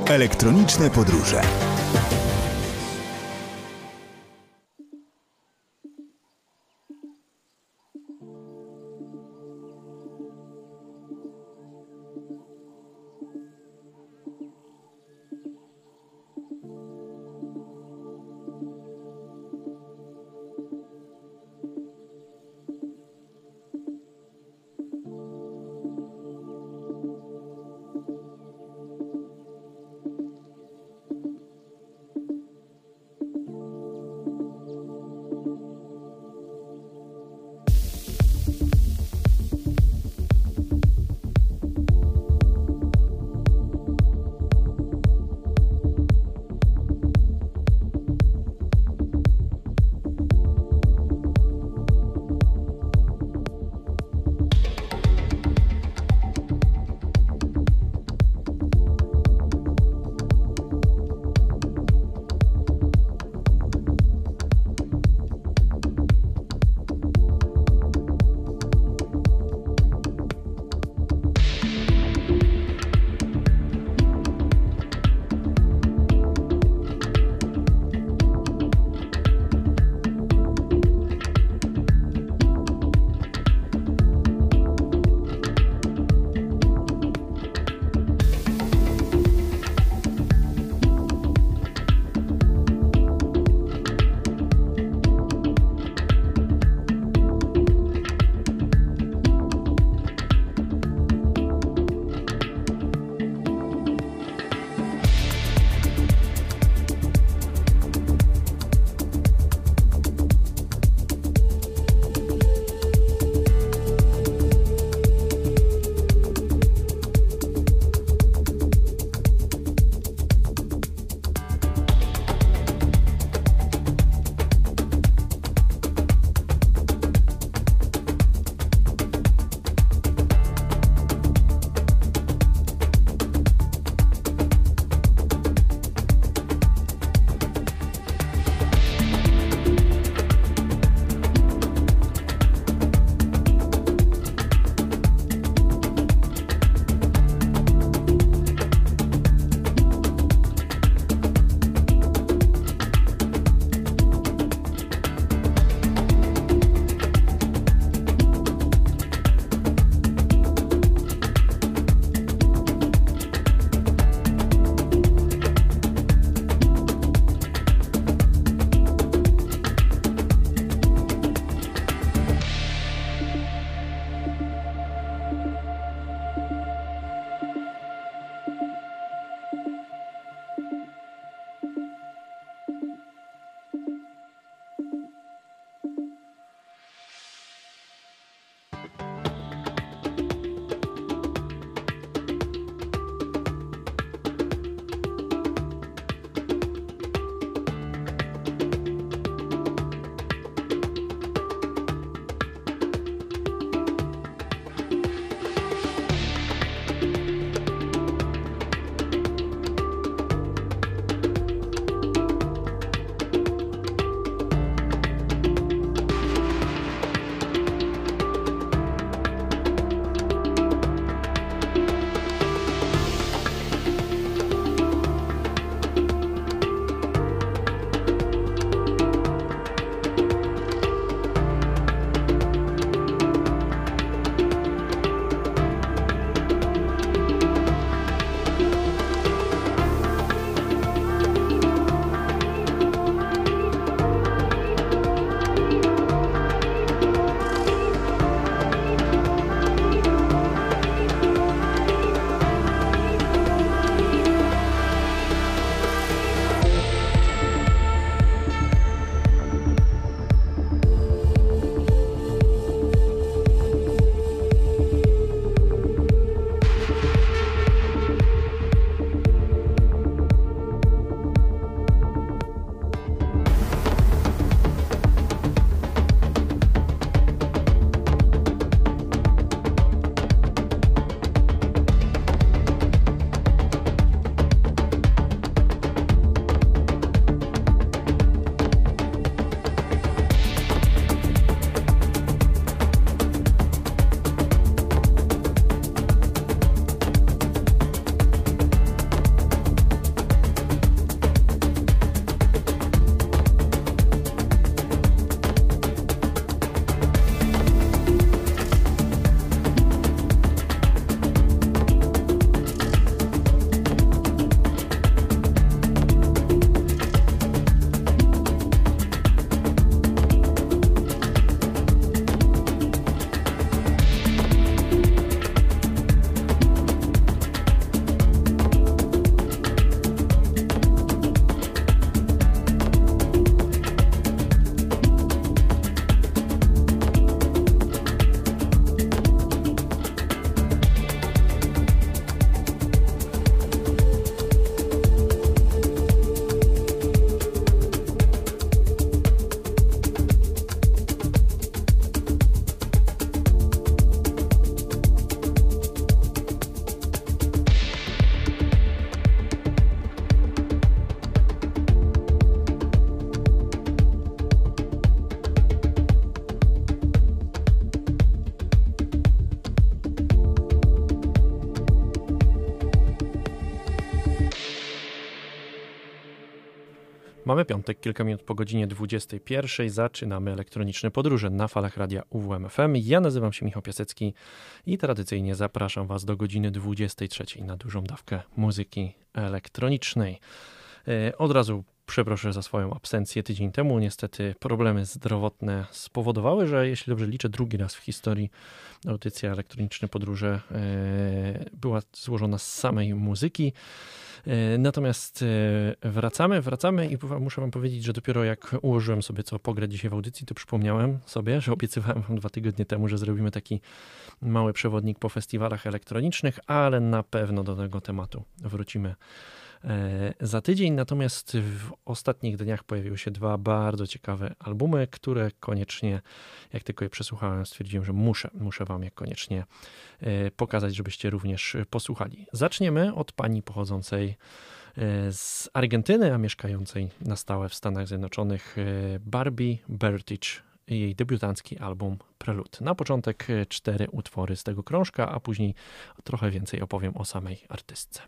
Elektroniczne podróże. Mamy piątek, kilka minut po godzinie 21. Zaczynamy elektroniczne podróże na falach radia UWMFM. Ja nazywam się Michał Piasecki i tradycyjnie zapraszam Was do godziny 23 na dużą dawkę muzyki elektronicznej. Od razu przeproszę za swoją absencję tydzień temu. Niestety problemy zdrowotne spowodowały, że jeśli dobrze liczę, drugi raz w historii audycja Elektroniczne Podróże była złożona z samej muzyki. Natomiast wracamy i muszę wam powiedzieć, że dopiero jak ułożyłem sobie co pograć dzisiaj w audycji, to przypomniałem sobie, że obiecywałem wam 2 tygodnie temu, że zrobimy taki mały przewodnik po festiwalach elektronicznych, ale na pewno do tego tematu wrócimy za tydzień. Natomiast w ostatnich dniach pojawiły się 2 bardzo ciekawe albumy, które koniecznie, jak tylko je przesłuchałem, stwierdziłem, że muszę wam je koniecznie pokazać, żebyście również posłuchali. Zaczniemy od pani pochodzącej z Argentyny, a mieszkającej na stałe w Stanach Zjednoczonych, Barbie Bertich. Jej debiutancki album Prelude. Na początek 4 utwory z tego krążka, a później trochę więcej opowiem o samej artystce.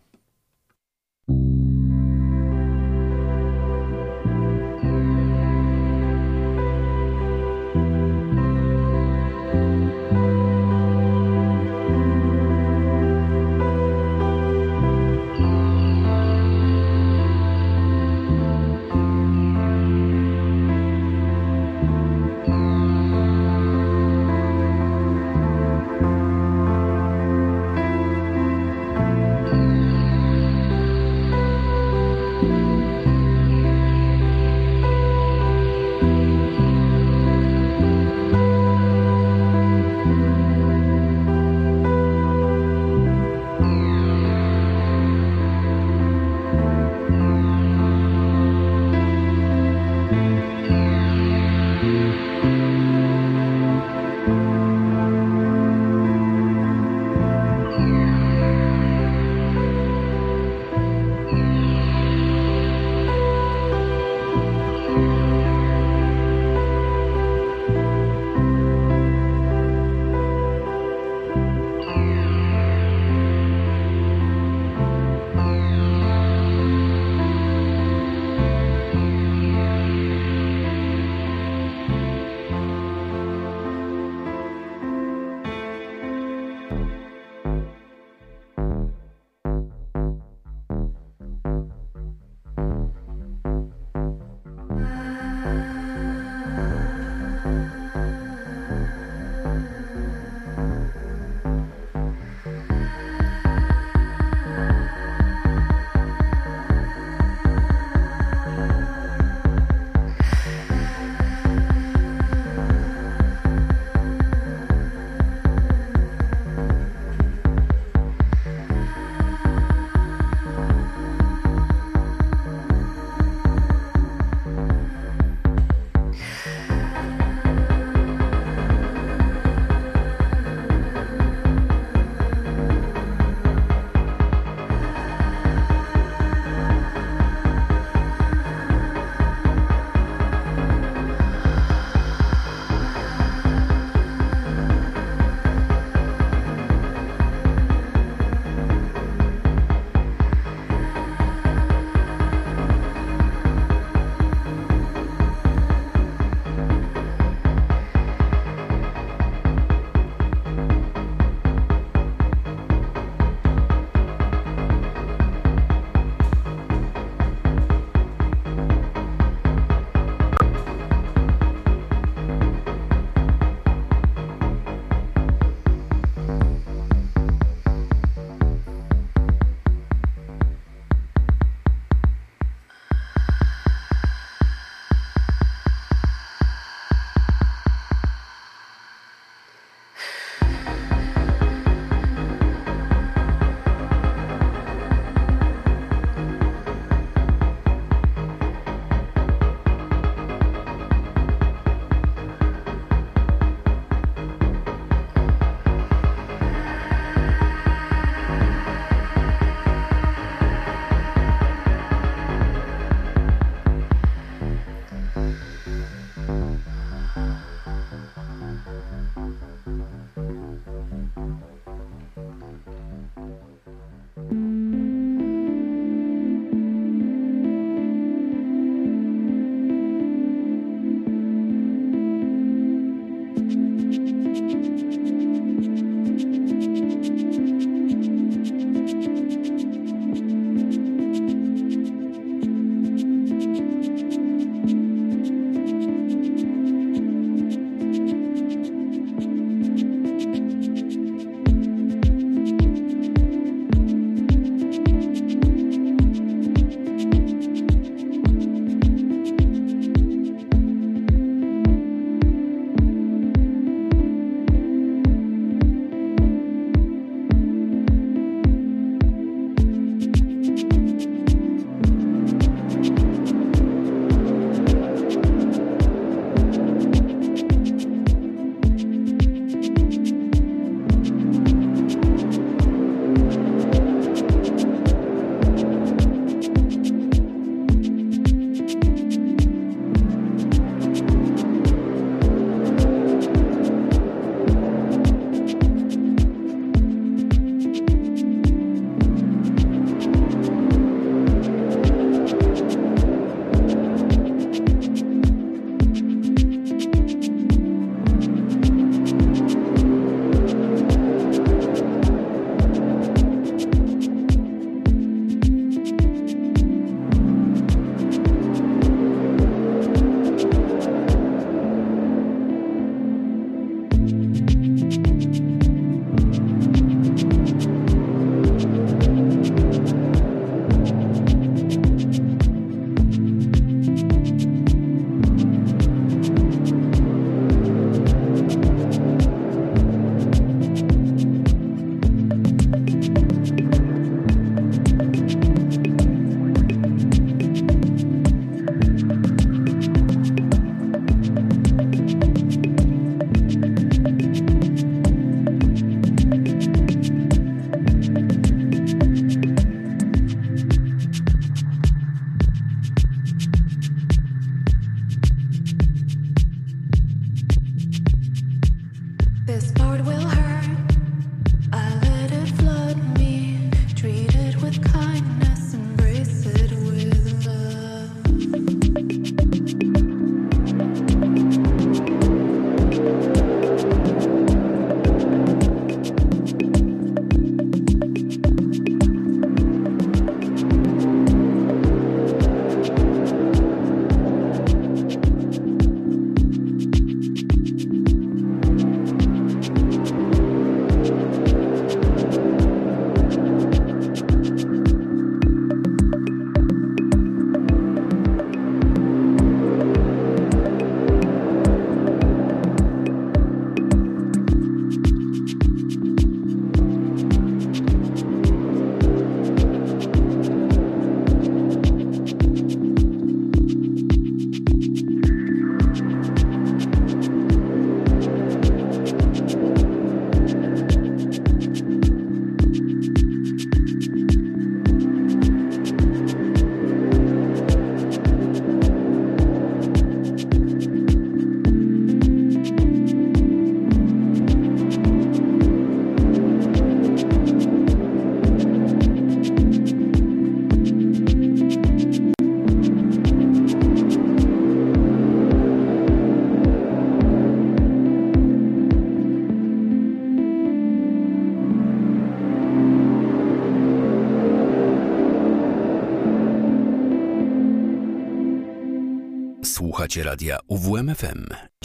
Słuchacie radia UWMFM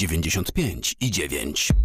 95,9.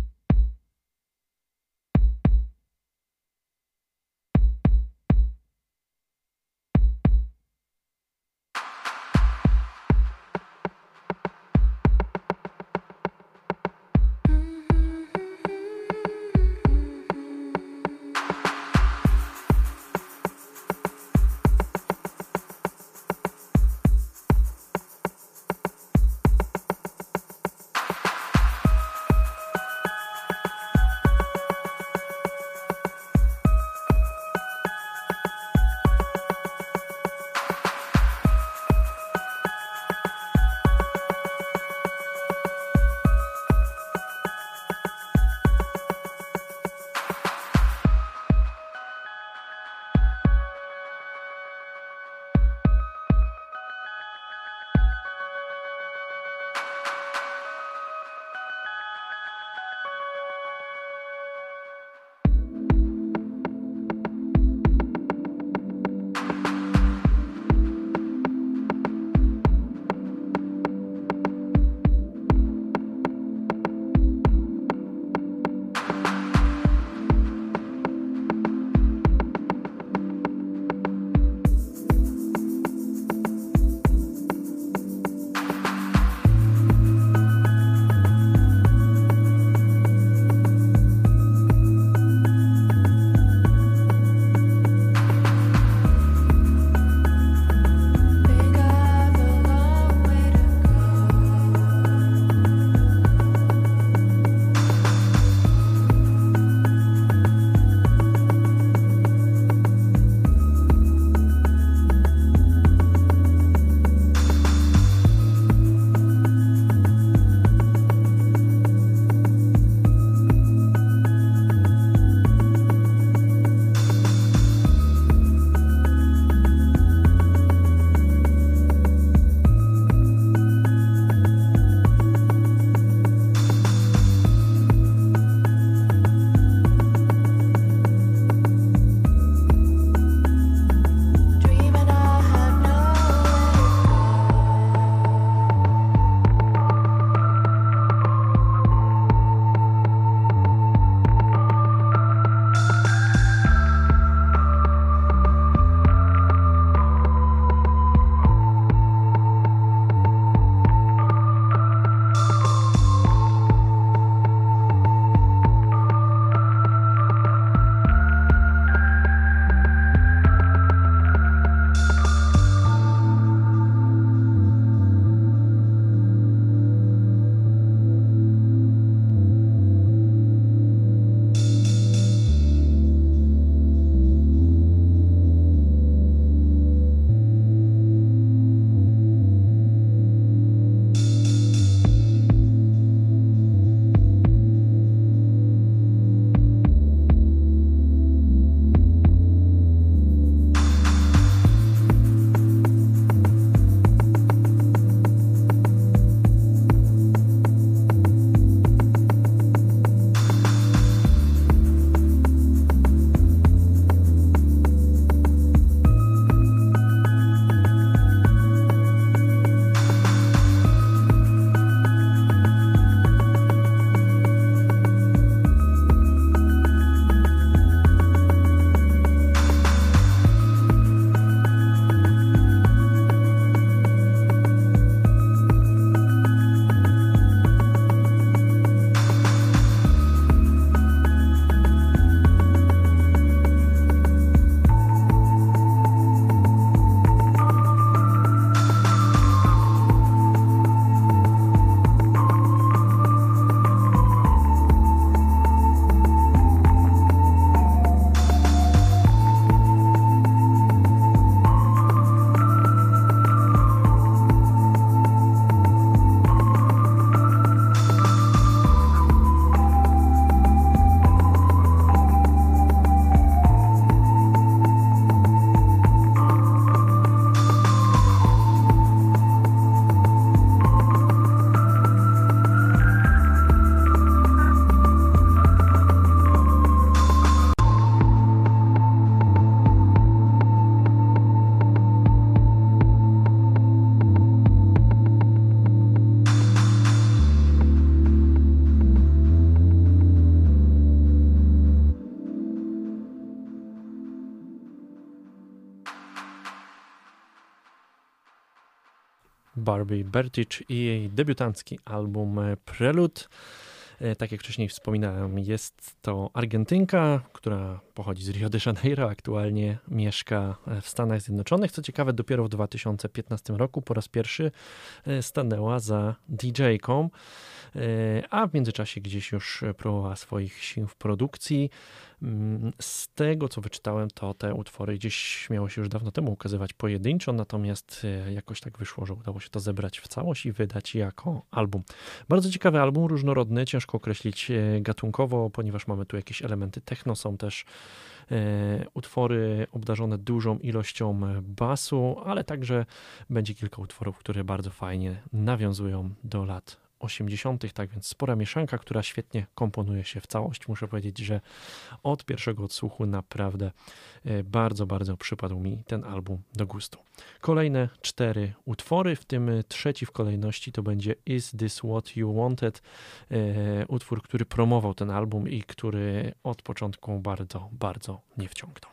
Barbie Bertich i jej debiutancki album Prelude. Tak jak wcześniej wspominałem, jest to Argentynka, która pochodzi z Rio de Janeiro, aktualnie mieszka w Stanach Zjednoczonych. Co ciekawe, dopiero w 2015 roku po raz pierwszy stanęła za DJ-ką, a w międzyczasie gdzieś już próbowała swoich sił w produkcji. Z tego, co wyczytałem, to te utwory gdzieś miało się już dawno temu ukazywać pojedynczo, natomiast jakoś tak wyszło, że udało się to zebrać w całość i wydać jako album. Bardzo ciekawy album, różnorodny, ciężko określić gatunkowo, ponieważ mamy tu jakieś elementy techno, są też utwory obdarzone dużą ilością basu, ale także będzie kilka utworów, które bardzo fajnie nawiązują do lat 80., tak więc spora mieszanka, która świetnie komponuje się w całość. Muszę powiedzieć, że od pierwszego odsłuchu naprawdę bardzo, bardzo przypadł mi ten album do gustu. Kolejne 4 utwory, w tym trzeci w kolejności to będzie Is This What You Wanted, utwór, który promował ten album i który od początku bardzo, bardzo nie wciągnął.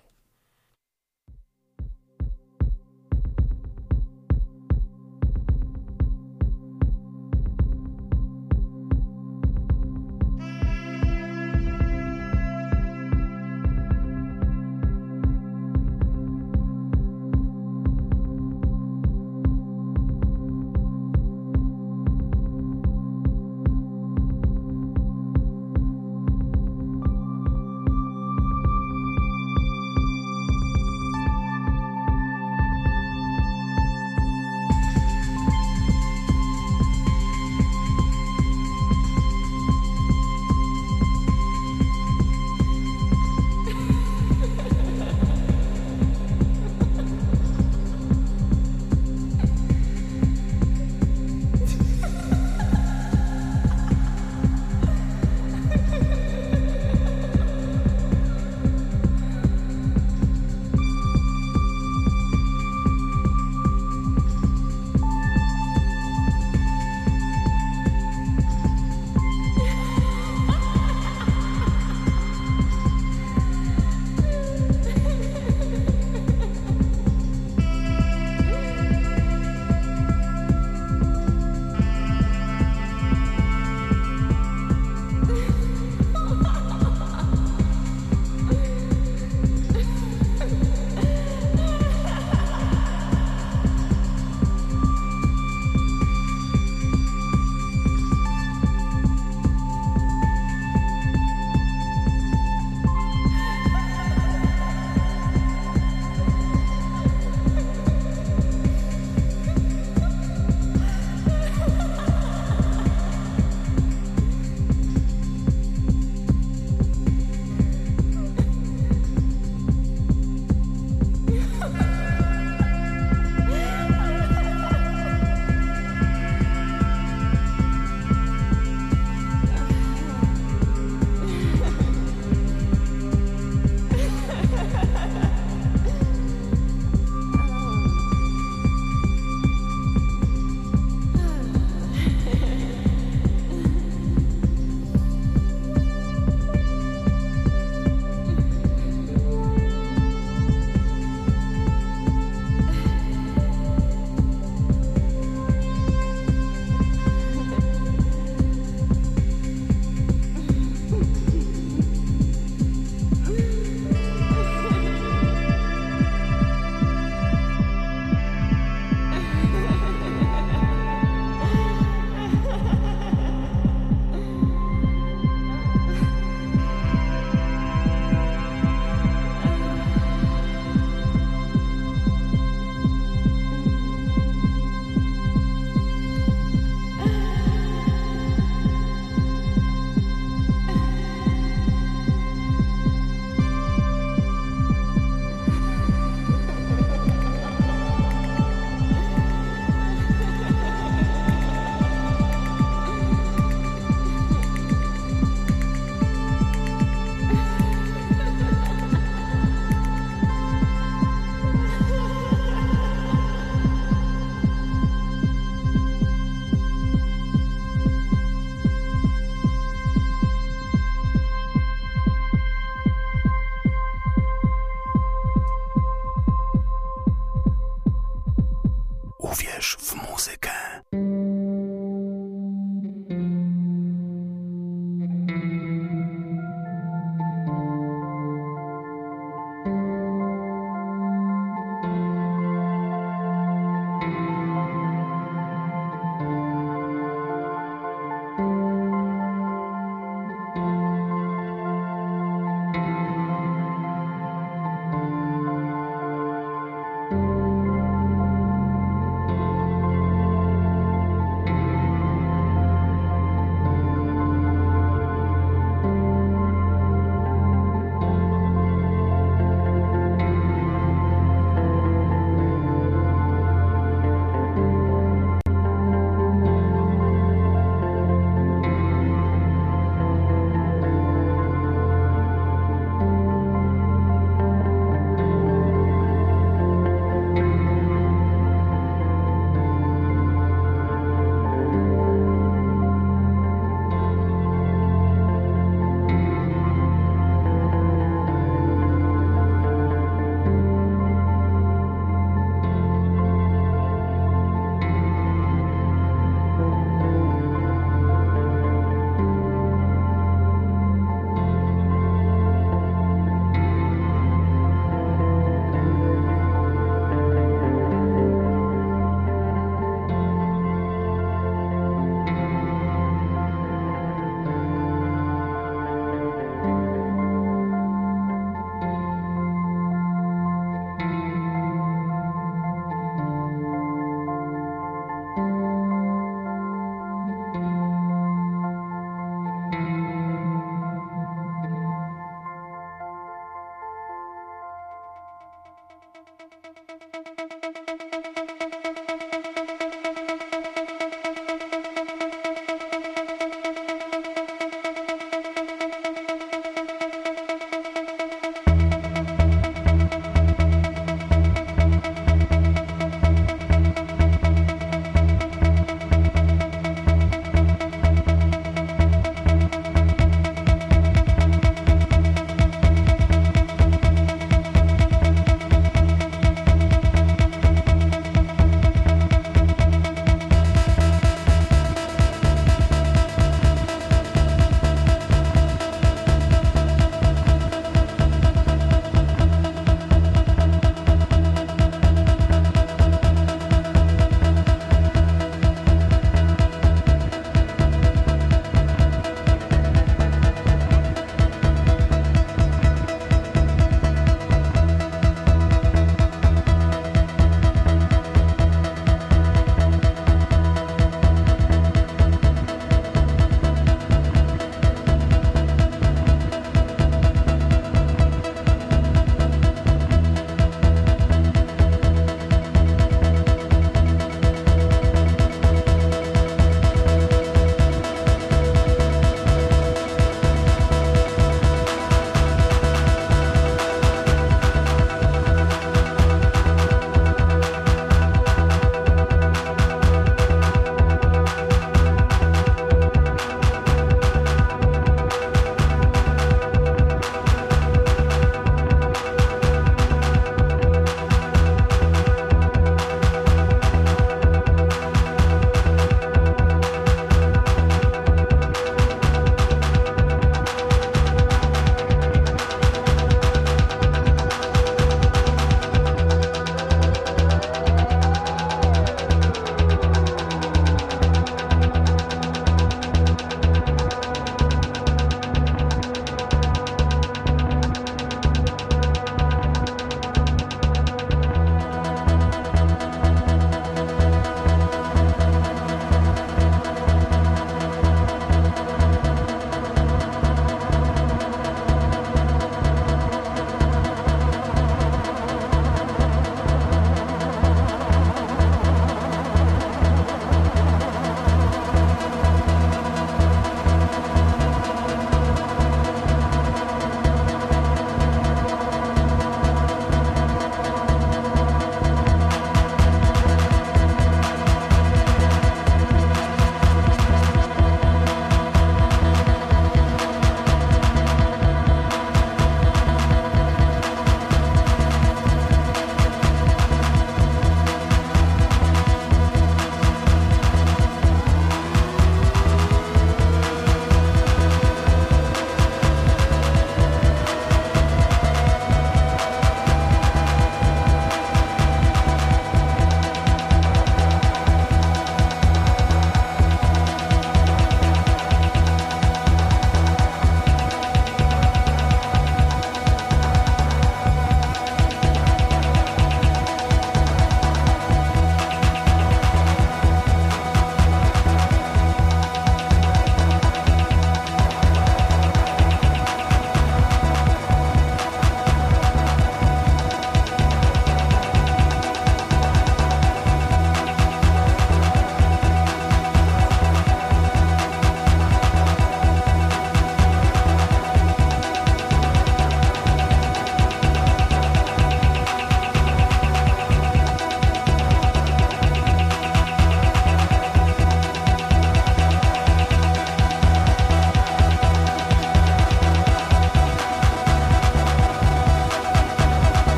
Uwierz w muzykę.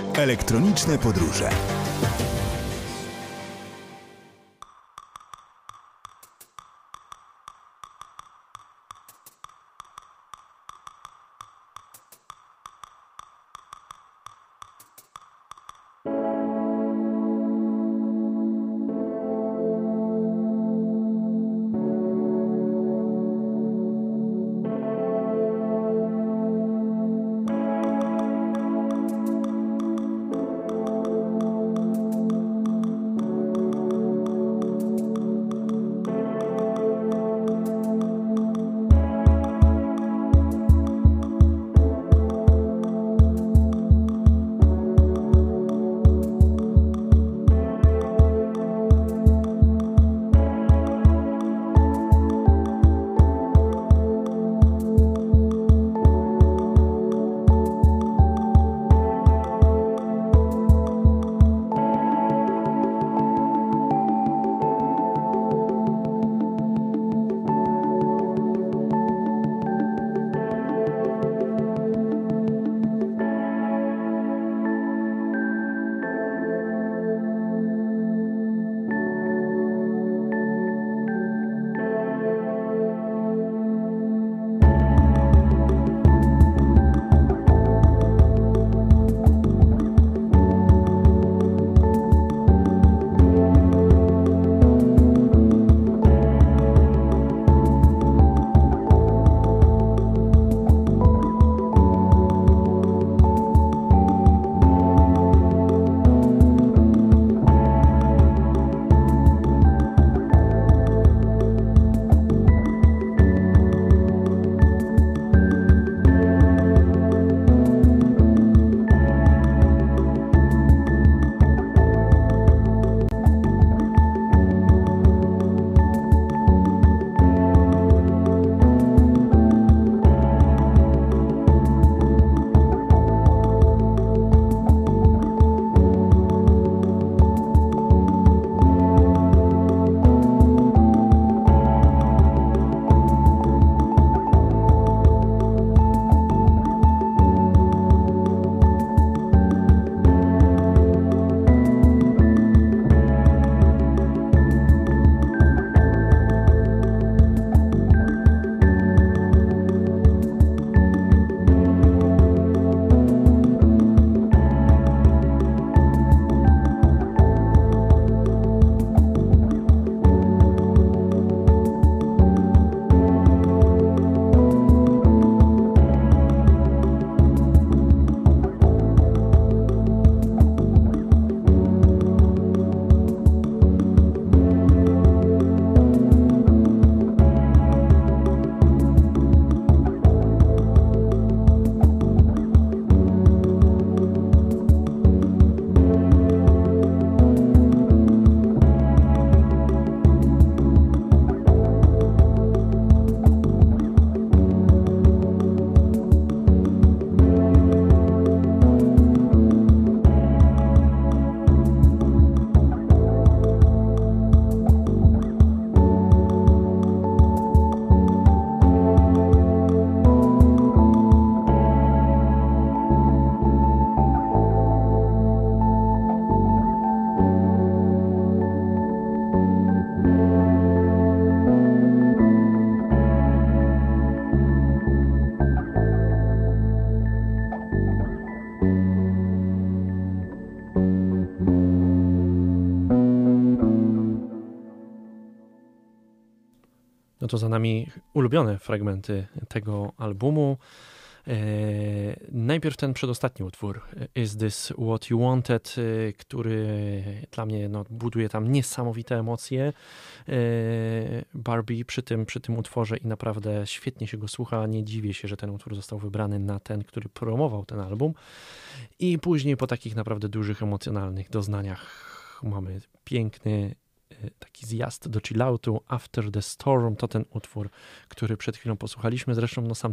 Elektroniczne podróże. No to za nami ulubione fragmenty tego albumu. Najpierw ten przedostatni utwór, Is This What You Wanted, który dla mnie buduje tam niesamowite emocje. Barbie przy tym utworze i naprawdę świetnie się go słucha. Nie dziwię się, że ten utwór został wybrany na ten, który promował ten album. I później po takich naprawdę dużych emocjonalnych doznaniach mamy piękny taki zjazd do chilloutu. After the Storm to ten utwór, który przed chwilą posłuchaliśmy. Zresztą sam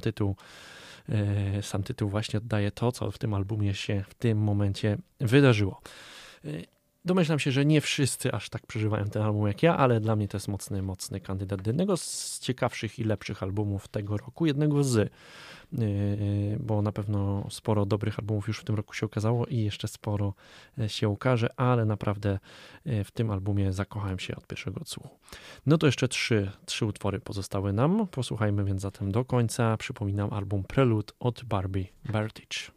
tytuł właśnie oddaje to, co w tym albumie się w tym momencie wydarzyło. Domyślam się, że nie wszyscy aż tak przeżywają ten album jak ja, ale dla mnie to jest mocny kandydat do jednego z ciekawszych i lepszych albumów tego roku, jednego z, bo na pewno sporo dobrych albumów już w tym roku się okazało i jeszcze sporo się ukaże, ale naprawdę w tym albumie zakochałem się od pierwszego odsłuchu. No to jeszcze trzy utwory pozostały nam, posłuchajmy więc zatem do końca. Przypominam album Prelude od Barbie Vertage.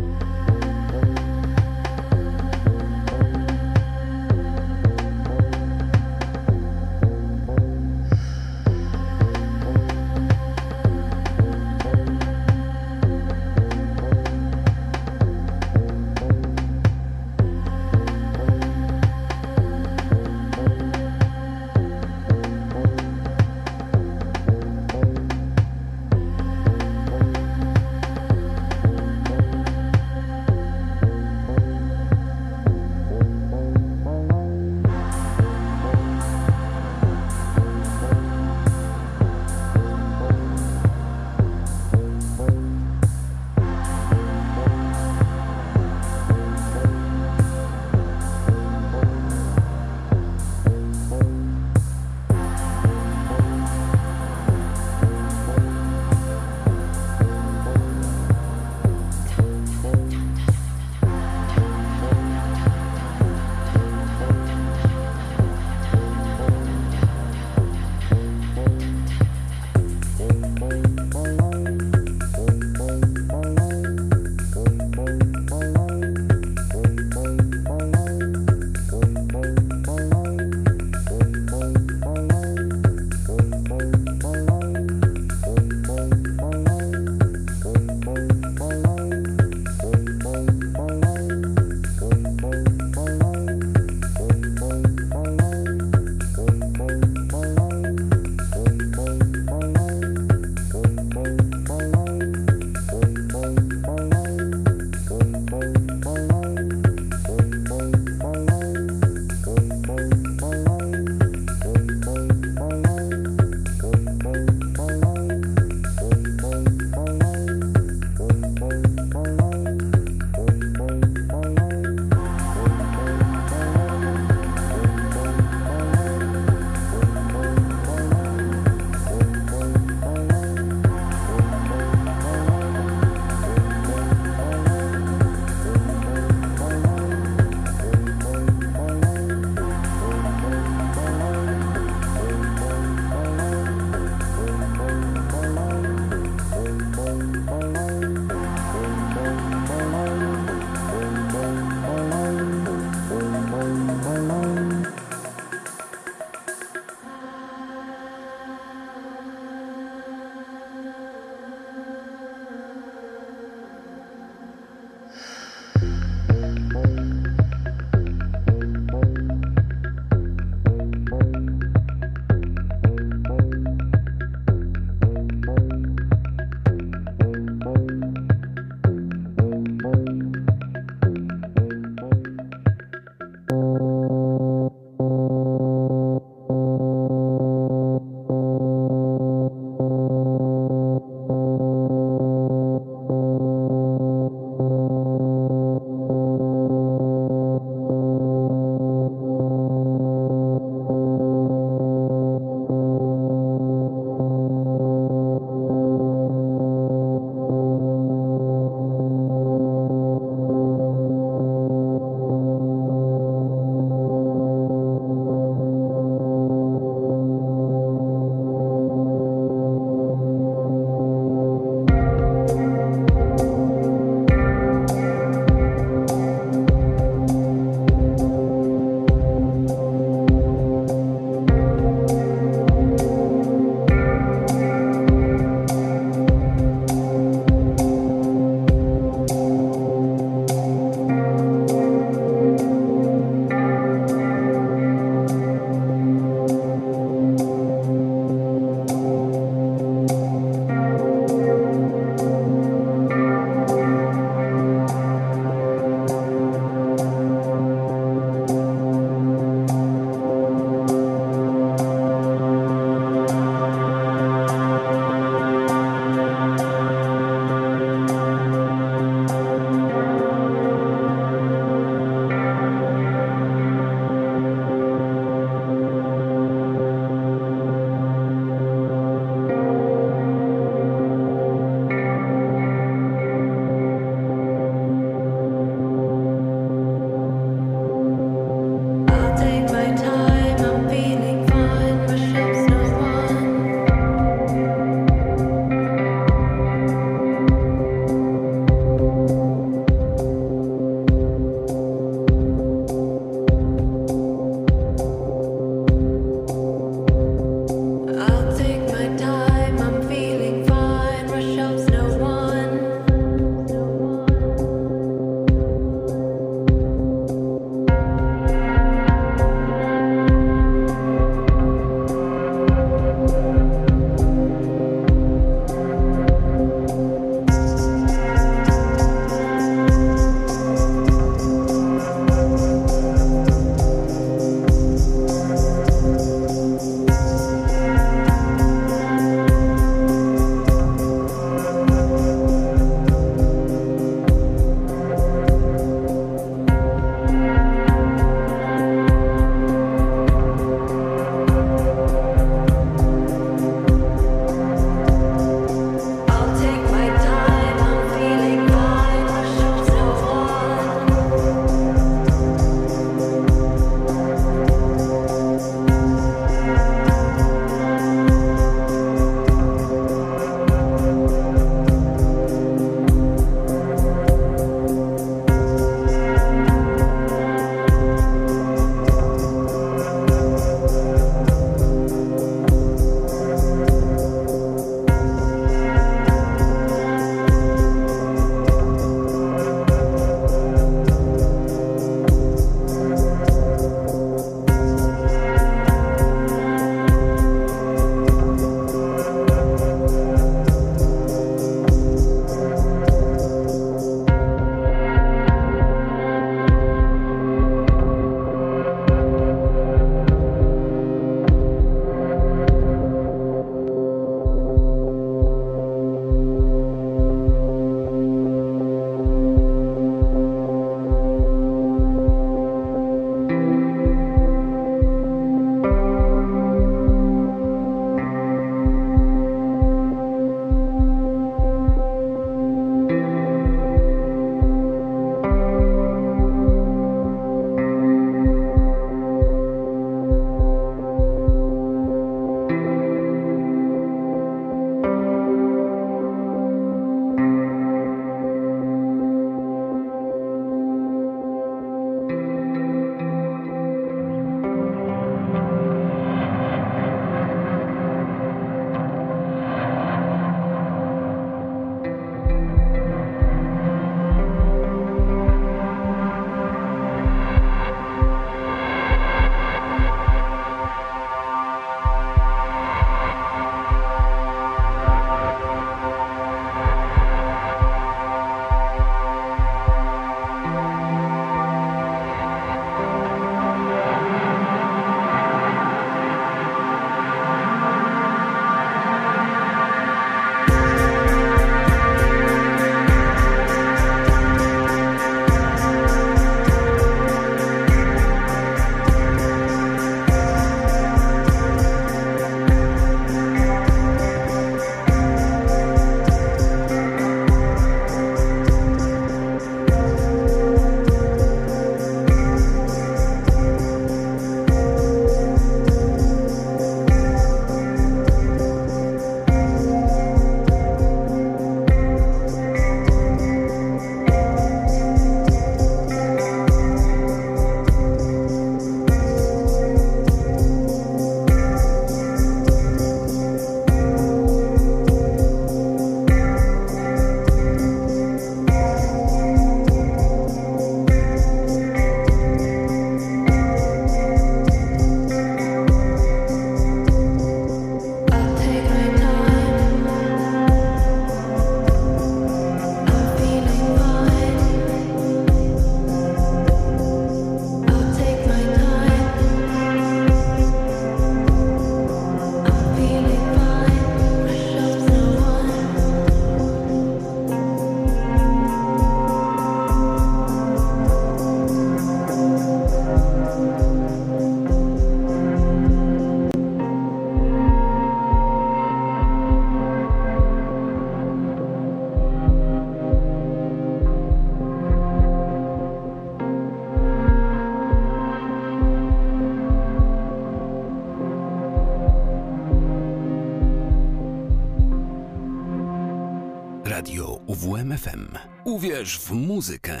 Radio UWMFM. Uwierz w muzykę.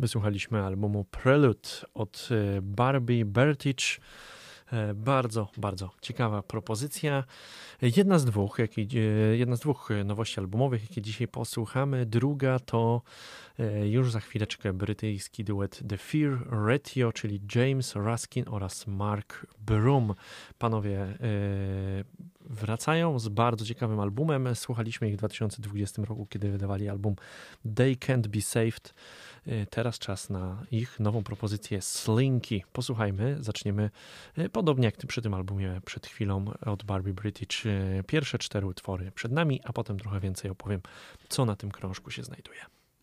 Wysłuchaliśmy albumu Prelude od Barbie Bertich. Bardzo, bardzo ciekawa propozycja. Jedna z dwóch nowości albumowych, jakie dzisiaj posłuchamy. Druga to już za chwileczkę brytyjski duet The Fear Ratio, czyli James Ruskin oraz Mark Broom. Panowie wracają z bardzo ciekawym albumem. Słuchaliśmy ich w 2020 roku, kiedy wydawali album They Can't Be Saved. Teraz czas na ich nową propozycję Slinky. Posłuchajmy, zaczniemy podobnie jak przy tym albumie przed chwilą od Barbie British. Pierwsze 4 utwory przed nami, a potem trochę więcej opowiem, co na tym krążku się znajduje.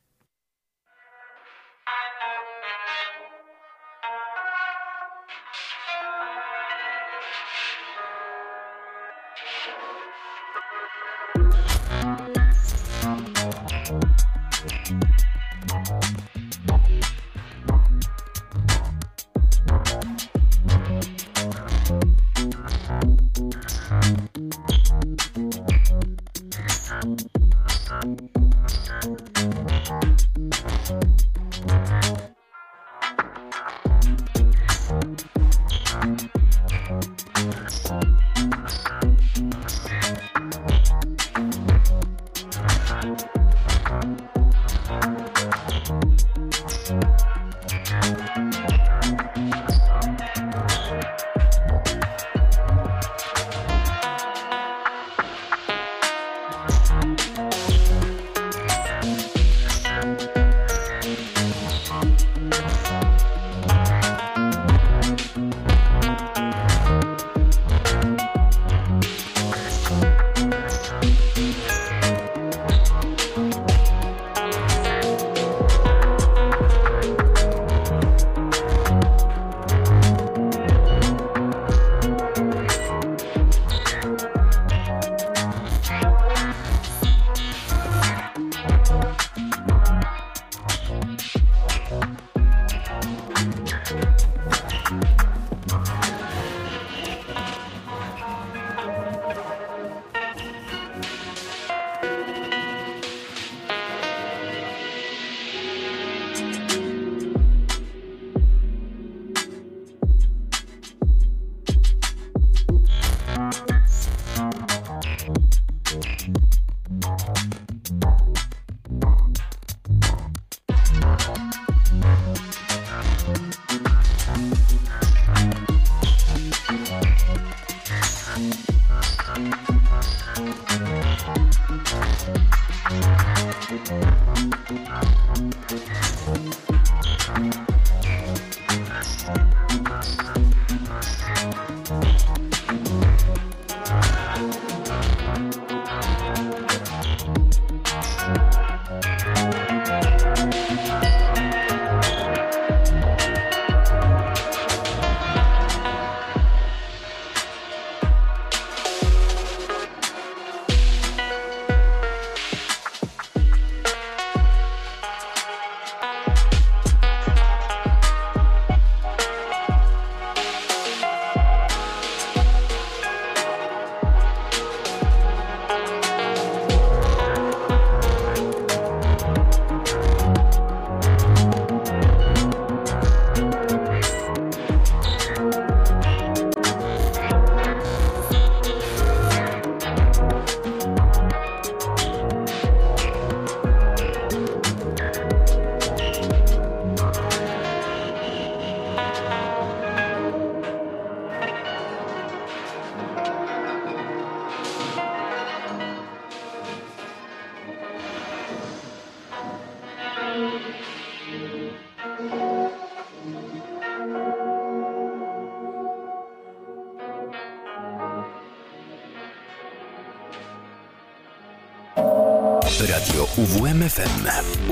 Radio UWM-FM.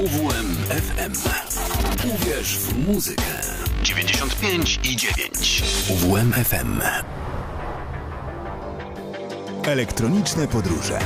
UWM-FM. Uwierz w muzykę. 95,9. UWM-FM. Elektroniczne podróże.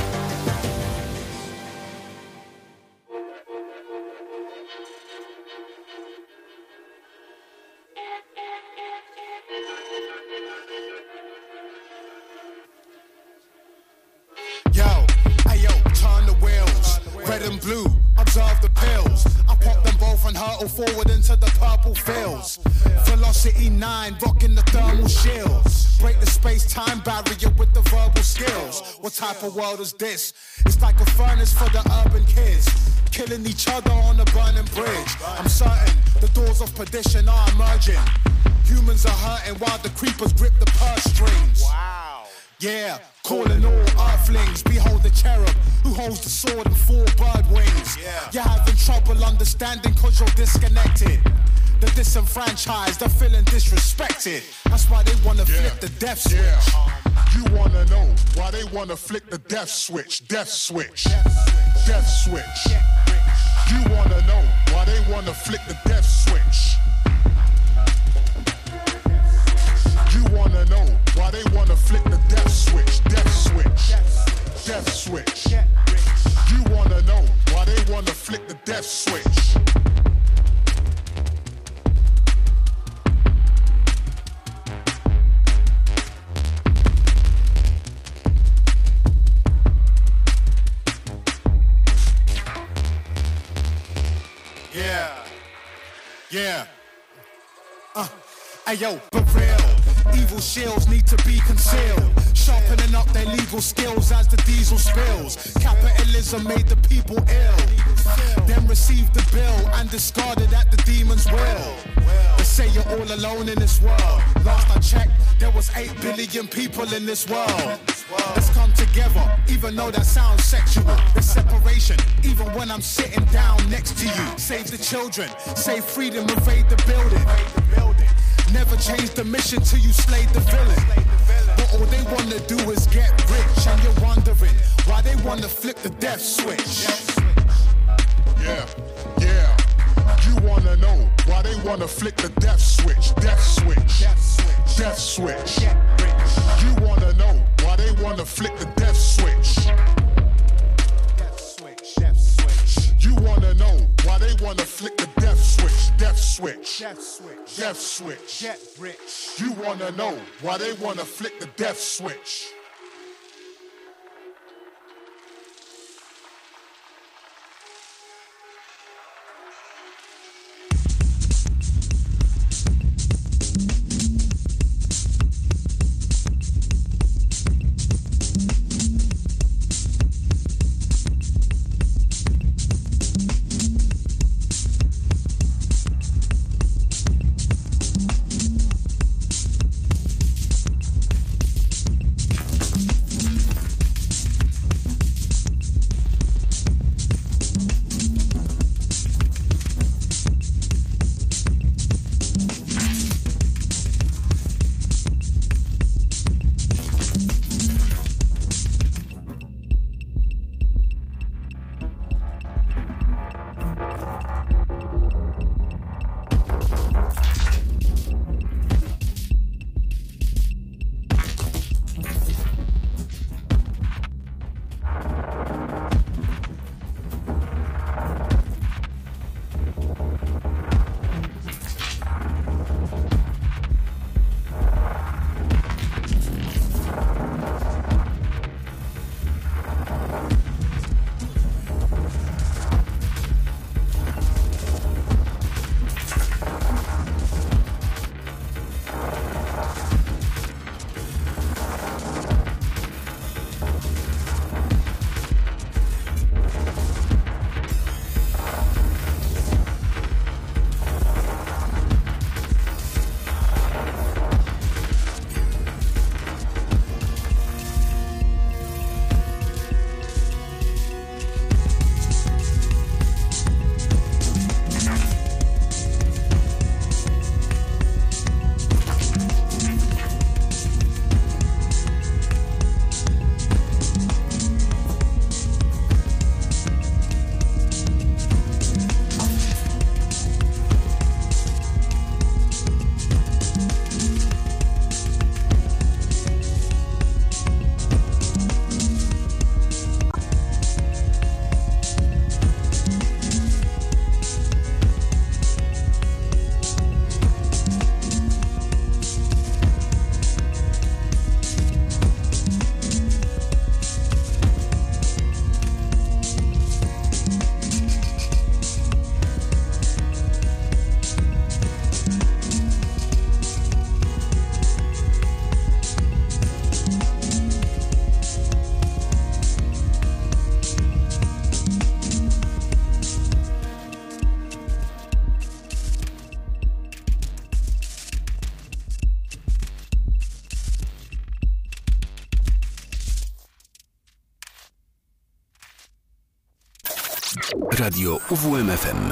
Red and blue, observe the pills. I pop them both and hurtle forward into the purple fields. Velocity 9, rocking the thermal shields. Break the space-time barrier with the verbal skills. What type of world is this? It's like a furnace for the urban kids, killing each other on a burning bridge. I'm certain the doors of perdition are emerging. Humans are hurting while the creepers grip the purse strings. Wow. Yeah, calling all earthlings. Behold the cherub who holds the sword and 4 bird wings. You're having trouble understanding cause you're disconnected. The disenfranchised are feeling disrespected. That's why they wanna flip the death switch. You wanna know why they wanna flick the death switch. Death switch. Death switch. You wanna know why they wanna flick the death switch. You wanna know why they wanna flick the death switch. Death switch. Death switch. You wanna know why they wanna flick the death switch. Yeah. Ayo, but real. Evil shields need to be concealed. Sharpening up their legal skills as the diesel spills. Capitalism made the people ill. Then received the bill and discarded at the demon's will. They say you're all alone in this world. Last I checked, there was 8 billion people in this world. Let's come together, even though that sounds sexual. There's separation, even when I'm sitting down next to you. Save the children, save freedom, invade the building. Never change the mission till you slayed the villain. But all they wanna do is get rich, and you're wondering why they wanna flip the death switch. Yeah. You wanna know why they wanna flick the death switch. Death switch. Death switch. You wanna know why they wanna flick the death switch. You wanna know why they wanna flick the death switch. Death switch. Death switch. Get rich. You wanna know why they wanna flick the death switch. Radio UWMFM.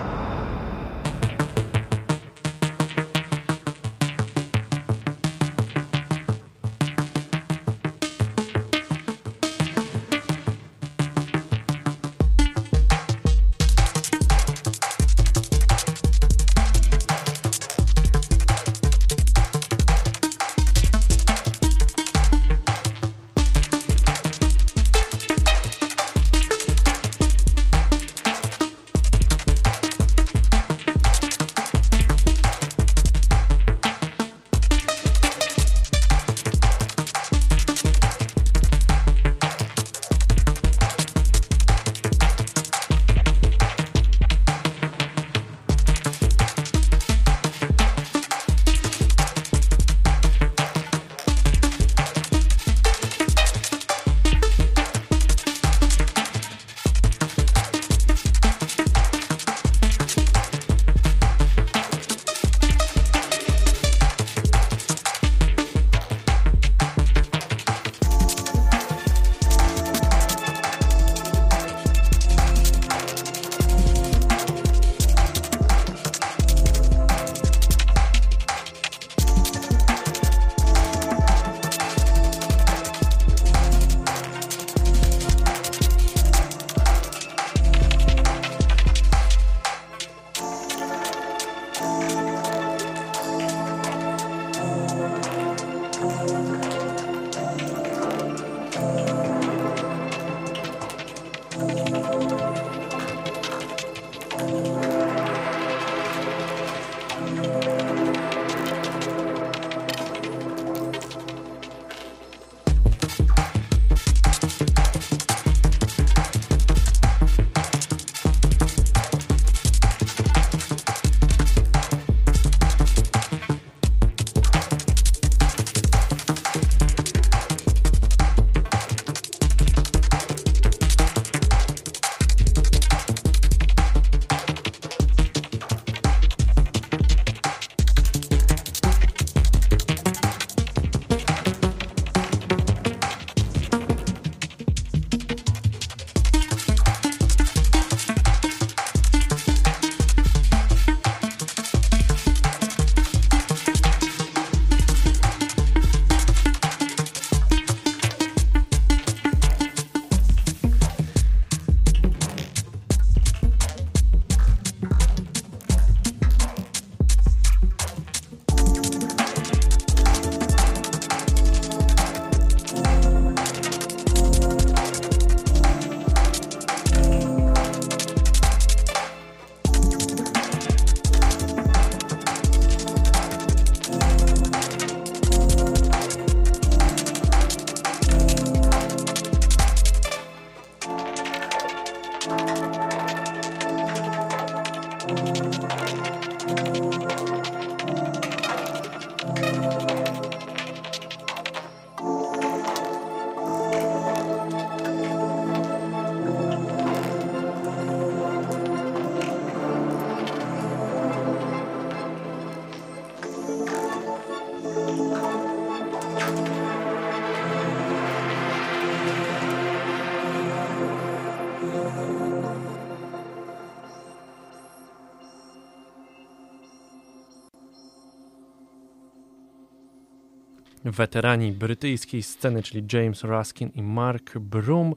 Weterani brytyjskiej sceny, czyli James Ruskin i Mark Broom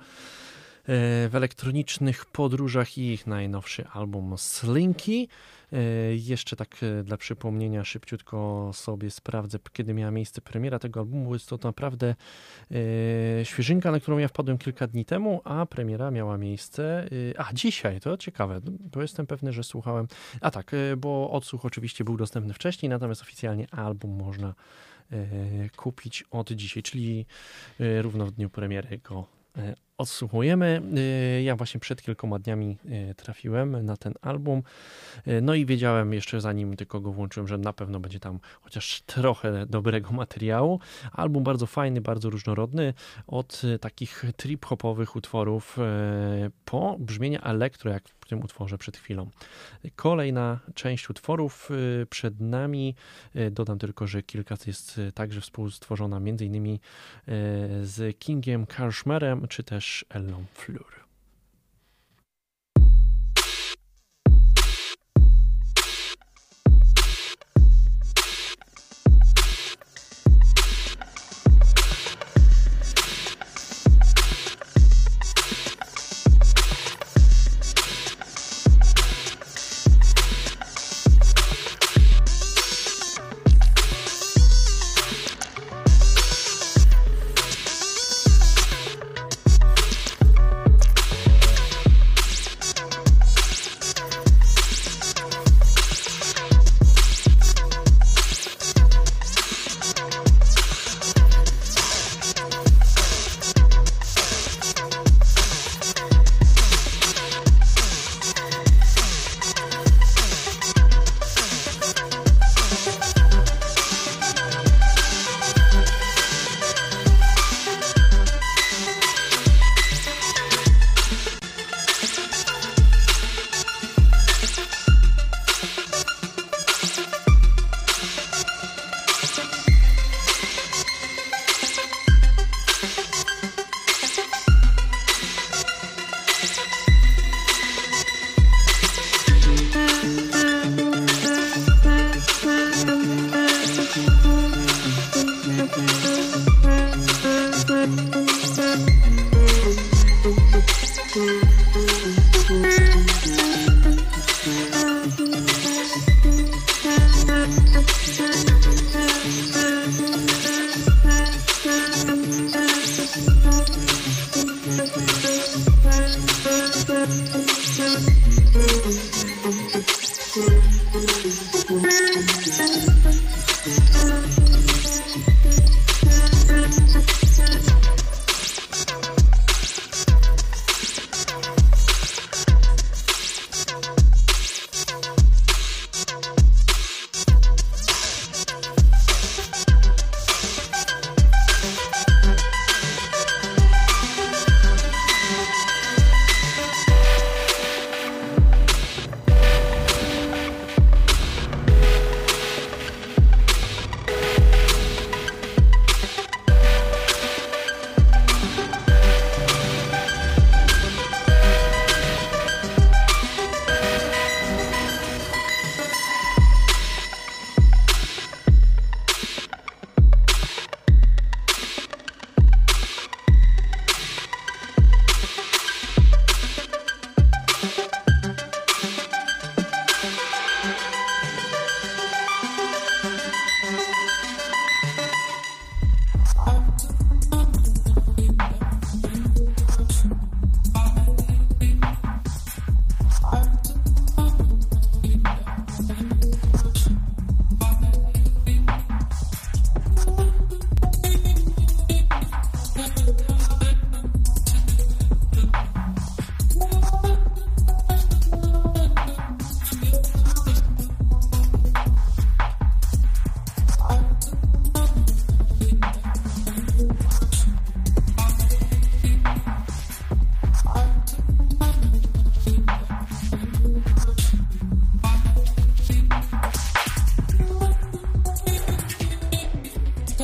w elektronicznych podróżach i ich najnowszy album Slinky. Jeszcze tak dla przypomnienia szybciutko sobie sprawdzę, kiedy miała miejsce premiera tego albumu. Jest to naprawdę świeżynka, na którą ja wpadłem kilka dni temu, a premiera miała miejsce dzisiaj, to ciekawe, bo jestem pewny, że słuchałem, bo odsłuch oczywiście był dostępny wcześniej, natomiast oficjalnie album można kupić od dzisiaj, czyli równo w dniu premiery go odsłuchujemy. Ja właśnie przed kilkoma dniami trafiłem na ten album, no i wiedziałem jeszcze zanim tylko go włączyłem, że na pewno będzie tam chociaż trochę dobrego materiału. Album bardzo fajny, bardzo różnorodny, od takich trip-hopowych utworów po brzmienie elektro, jak w tym utworze przed chwilą. Kolejna część utworów przed nami. Dodam tylko, że kilka jest także współstworzona m.in. z Kingiem Kashmerem, czy też Ellą Fleur.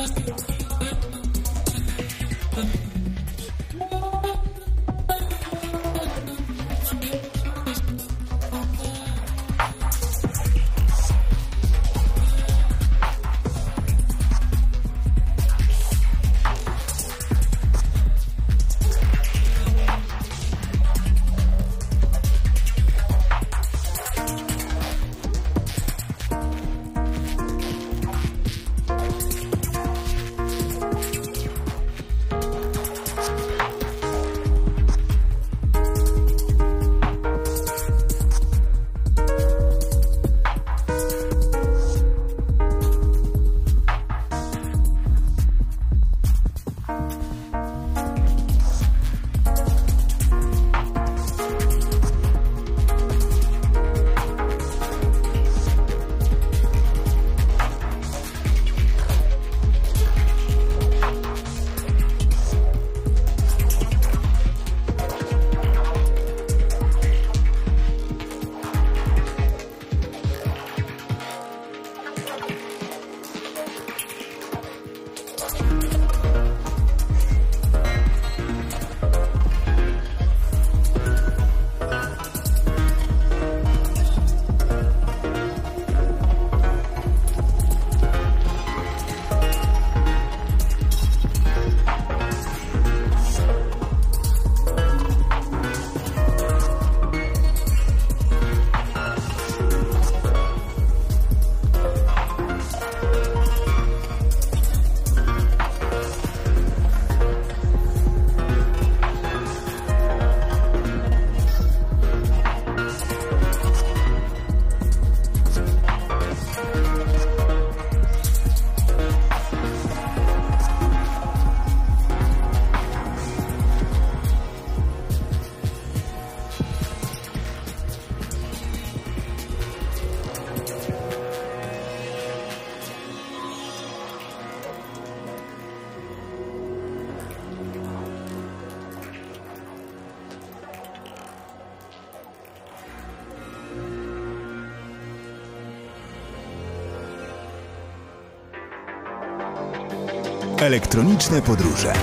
Elektroniczne podróże.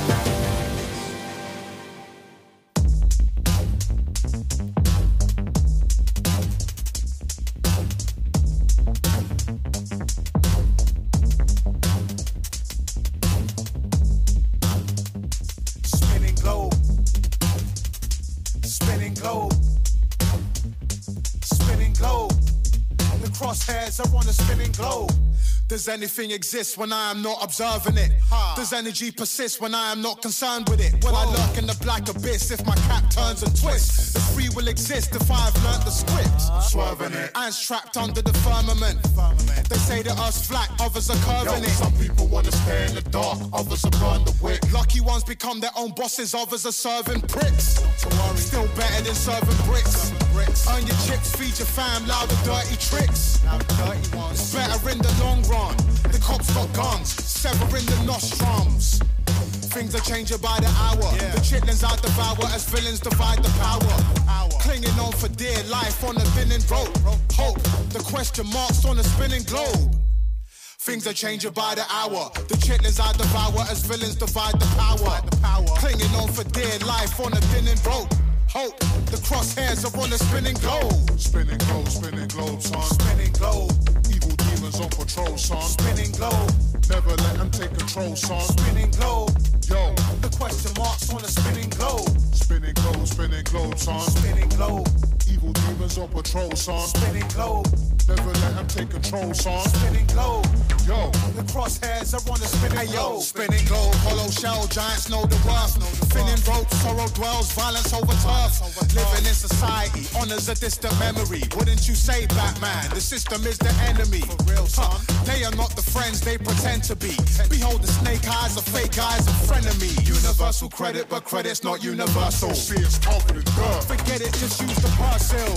Does anything exist when I am not observing it? Does energy persist when I am not concerned with it? Will I lurk in the black abyss if my cap turns and twists? Does free will exist if I've learnt the script? Swerving it. Ants trapped under the firmament. They say that us flat, others are curving it. Some people wanna stay in the dark, others are burn the wick. Lucky ones become their own bosses, others are serving pricks. Still better than serving bricks. Earn your chips, feed your fam, loud the dirty tricks. It's better in the long run. The cops got guns, severing the nostrums. Things are changing by the hour. The chitlins I devour as villains divide the power. Clinging on for dear life on a thinning rope. Hope, the question marks on a spinning globe. Things are changing by the hour. The chitlins I devour as villains divide the power. Clinging on for dear life on a thinning rope. Hope, the crosshairs are on a spinning globe. Spinning globe, son. Spinning globe. Evil demons on patrol, son. Spinning globe. Never let them take control, son. Spinning globe. Yo, the question marks on a spinning globe. Spinning globe, son. Spinning globe. Evil demons on patrol, son. Spinning globe. Never let them take control, son. Spinning globe. Yo, the crosshairs are on a spinning globe. Spinning globe, hollow shell, giants know the worth. Thinning rope, sorrow dwells, violence over turf. Living in society, honors a distant memory. Wouldn't you say, Batman? The system is the enemy. For real, son. They are not the friends they pretend to be. Behold the snake eyes of fake eyes and frenemy. Universal credit, but credit's not universal. see it's confident, duh. Forget it, just use the parcel.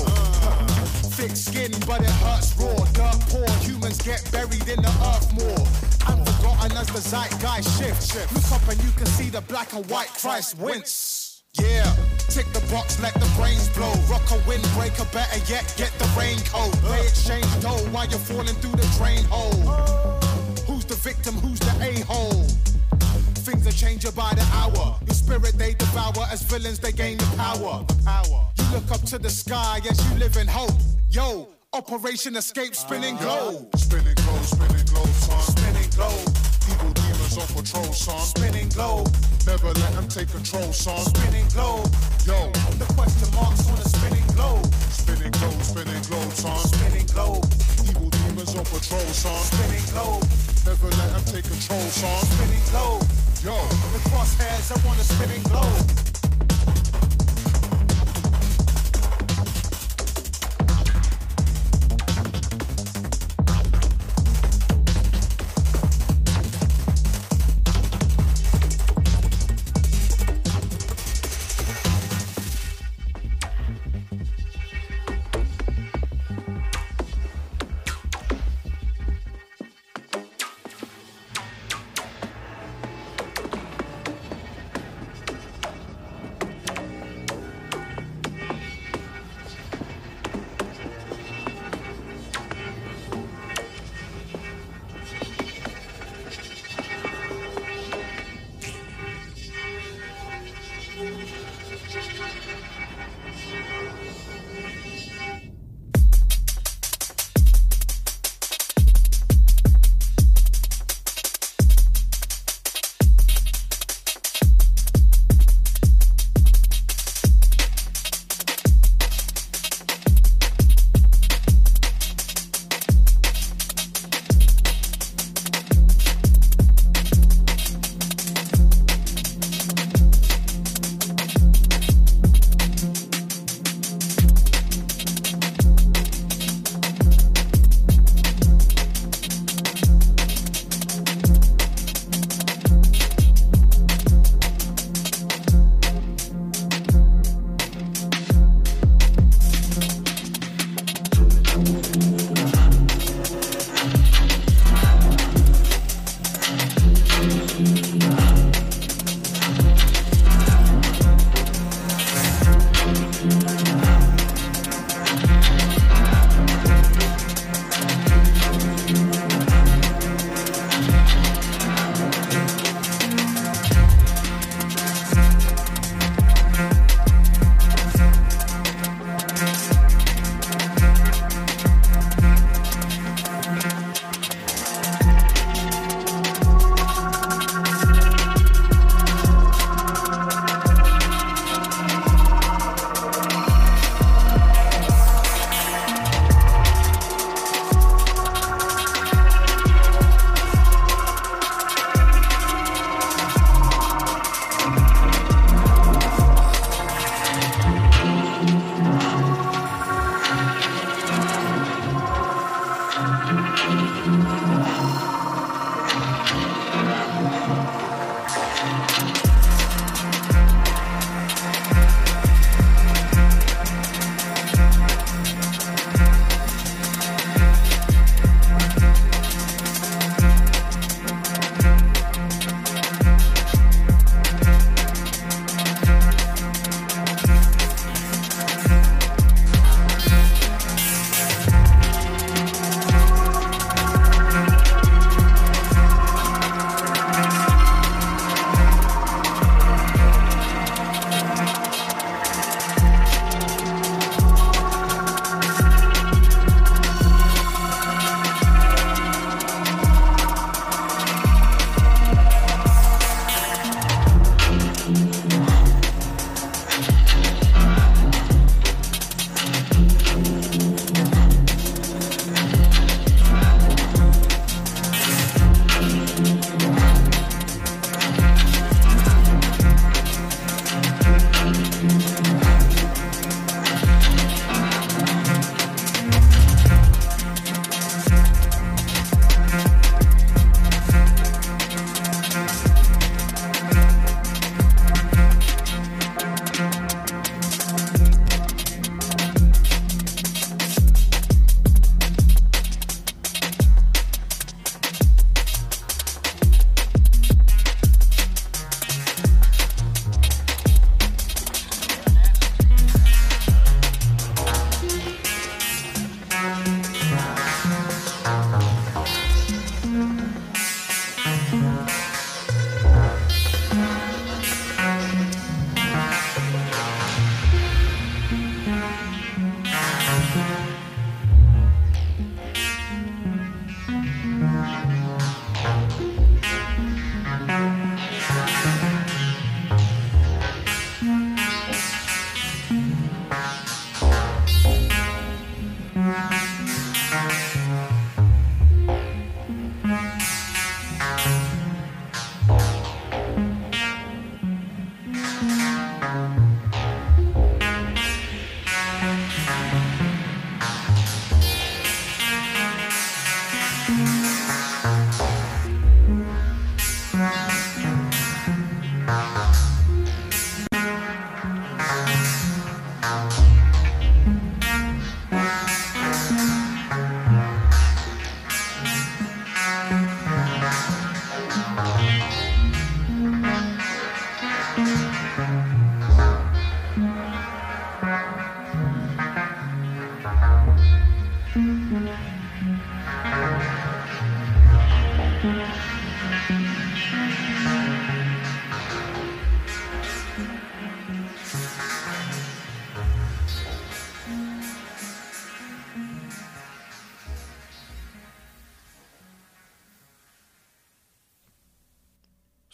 Thick skin, but it hurts raw. Dirt poor, humans get buried in the earth more. I'm forgotten as the zeitgeist shifts. Look up and you can see the black and white Christ wince. Yeah, tick the box, let the brains blow. Rock a windbreaker, better yet, get the raincoat. They exchange dough while you're falling through the drain hole. Who's the victim, who's the a-hole? change you by the hour. Your spirit they devour, as villains they gain the power. You look up to the sky as you live in hope. Yo, Operation Escape, spinning globe. Spinning globe, son. Spinning globe. Evil demons on patrol, son. Spinning globe. Never let them take control, son. Spinning globe. Yo, The question marks on a spinning globe. spinning globe, son. Spinning globe. Evil demons on patrol, son. Spinning globe. Never let them take control, son. Spinning globe. Yo, The crosshairs are on a spinning globe.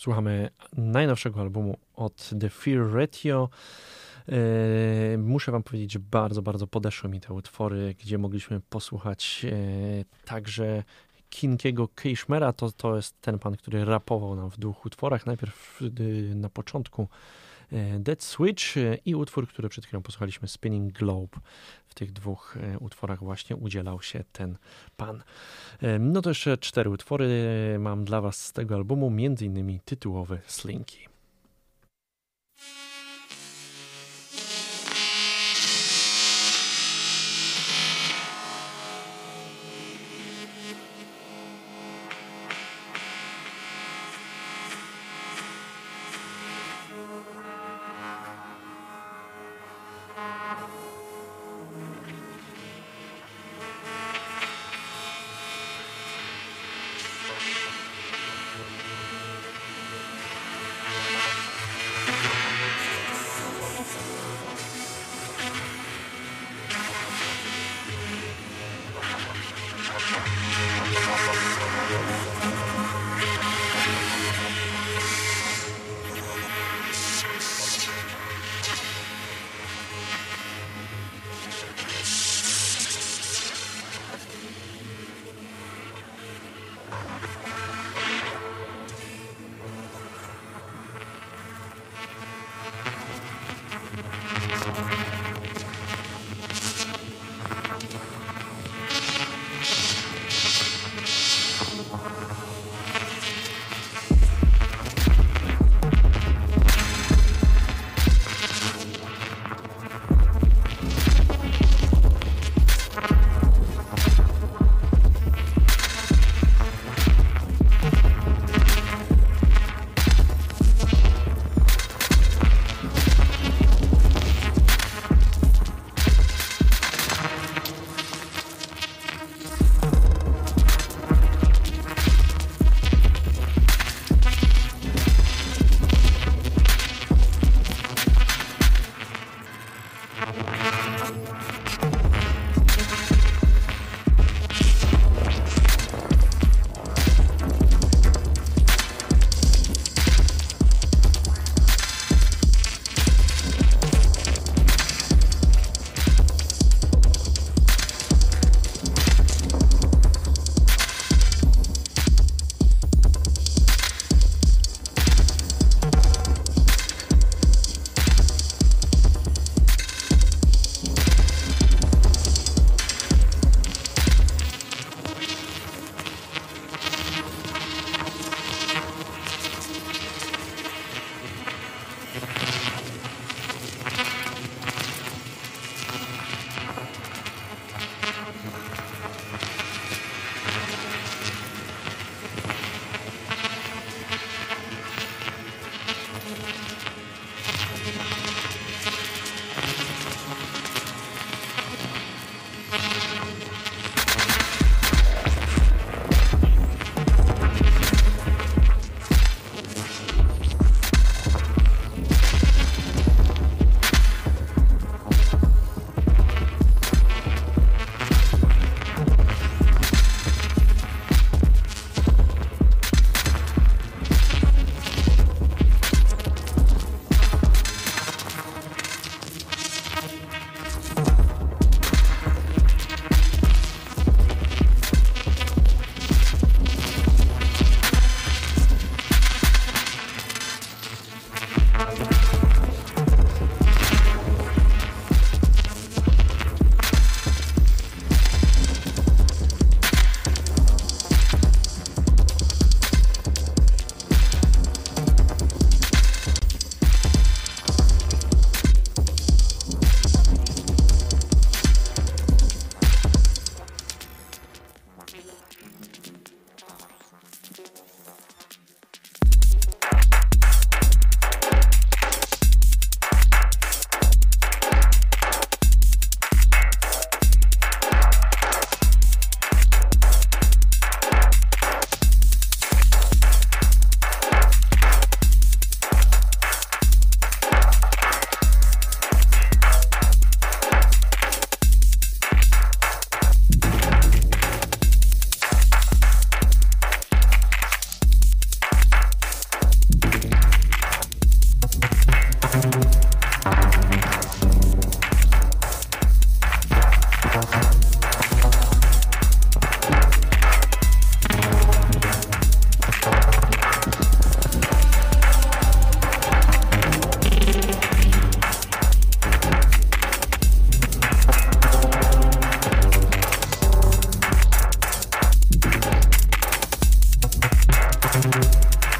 Słuchamy najnowszego albumu od The Fear Ratio. Muszę wam powiedzieć, że bardzo, bardzo podeszły mi te utwory, gdzie mogliśmy posłuchać także Kinkiego Kishmera. To jest ten pan, który rapował nam w dwóch utworach. Najpierw na początku Dead Switch i utwór, który przed chwilą posłuchaliśmy, Spinning Globe. W tych dwóch utworach właśnie udzielał się ten pan. No to jeszcze 4 utwory mam dla was z tego albumu, między innymi tytułowy Slinky.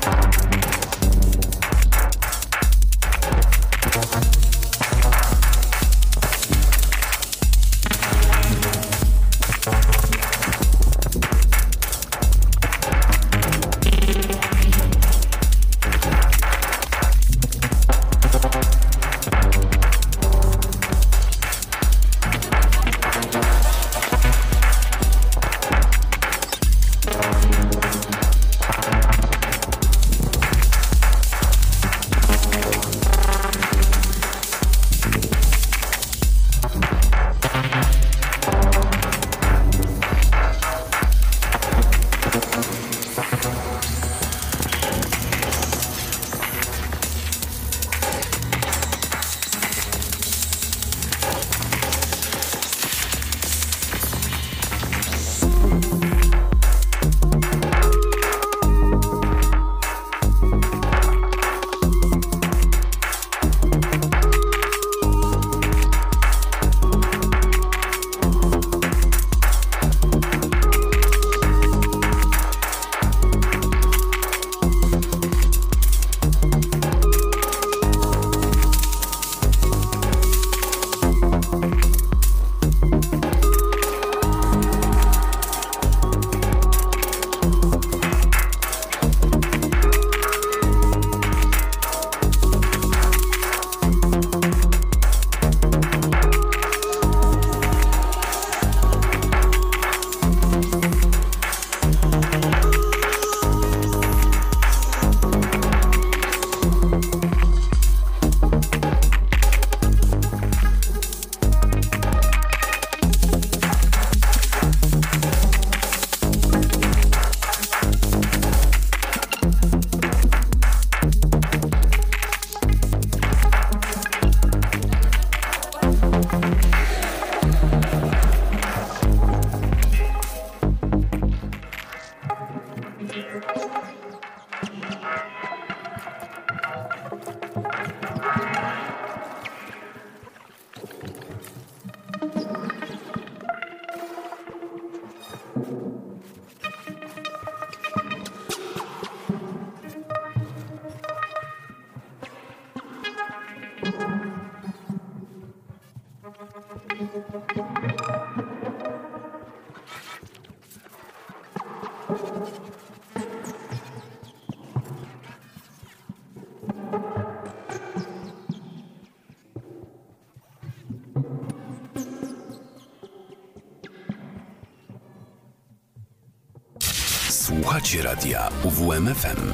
Słuchacie radia UWMFM.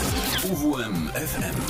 UWMFM.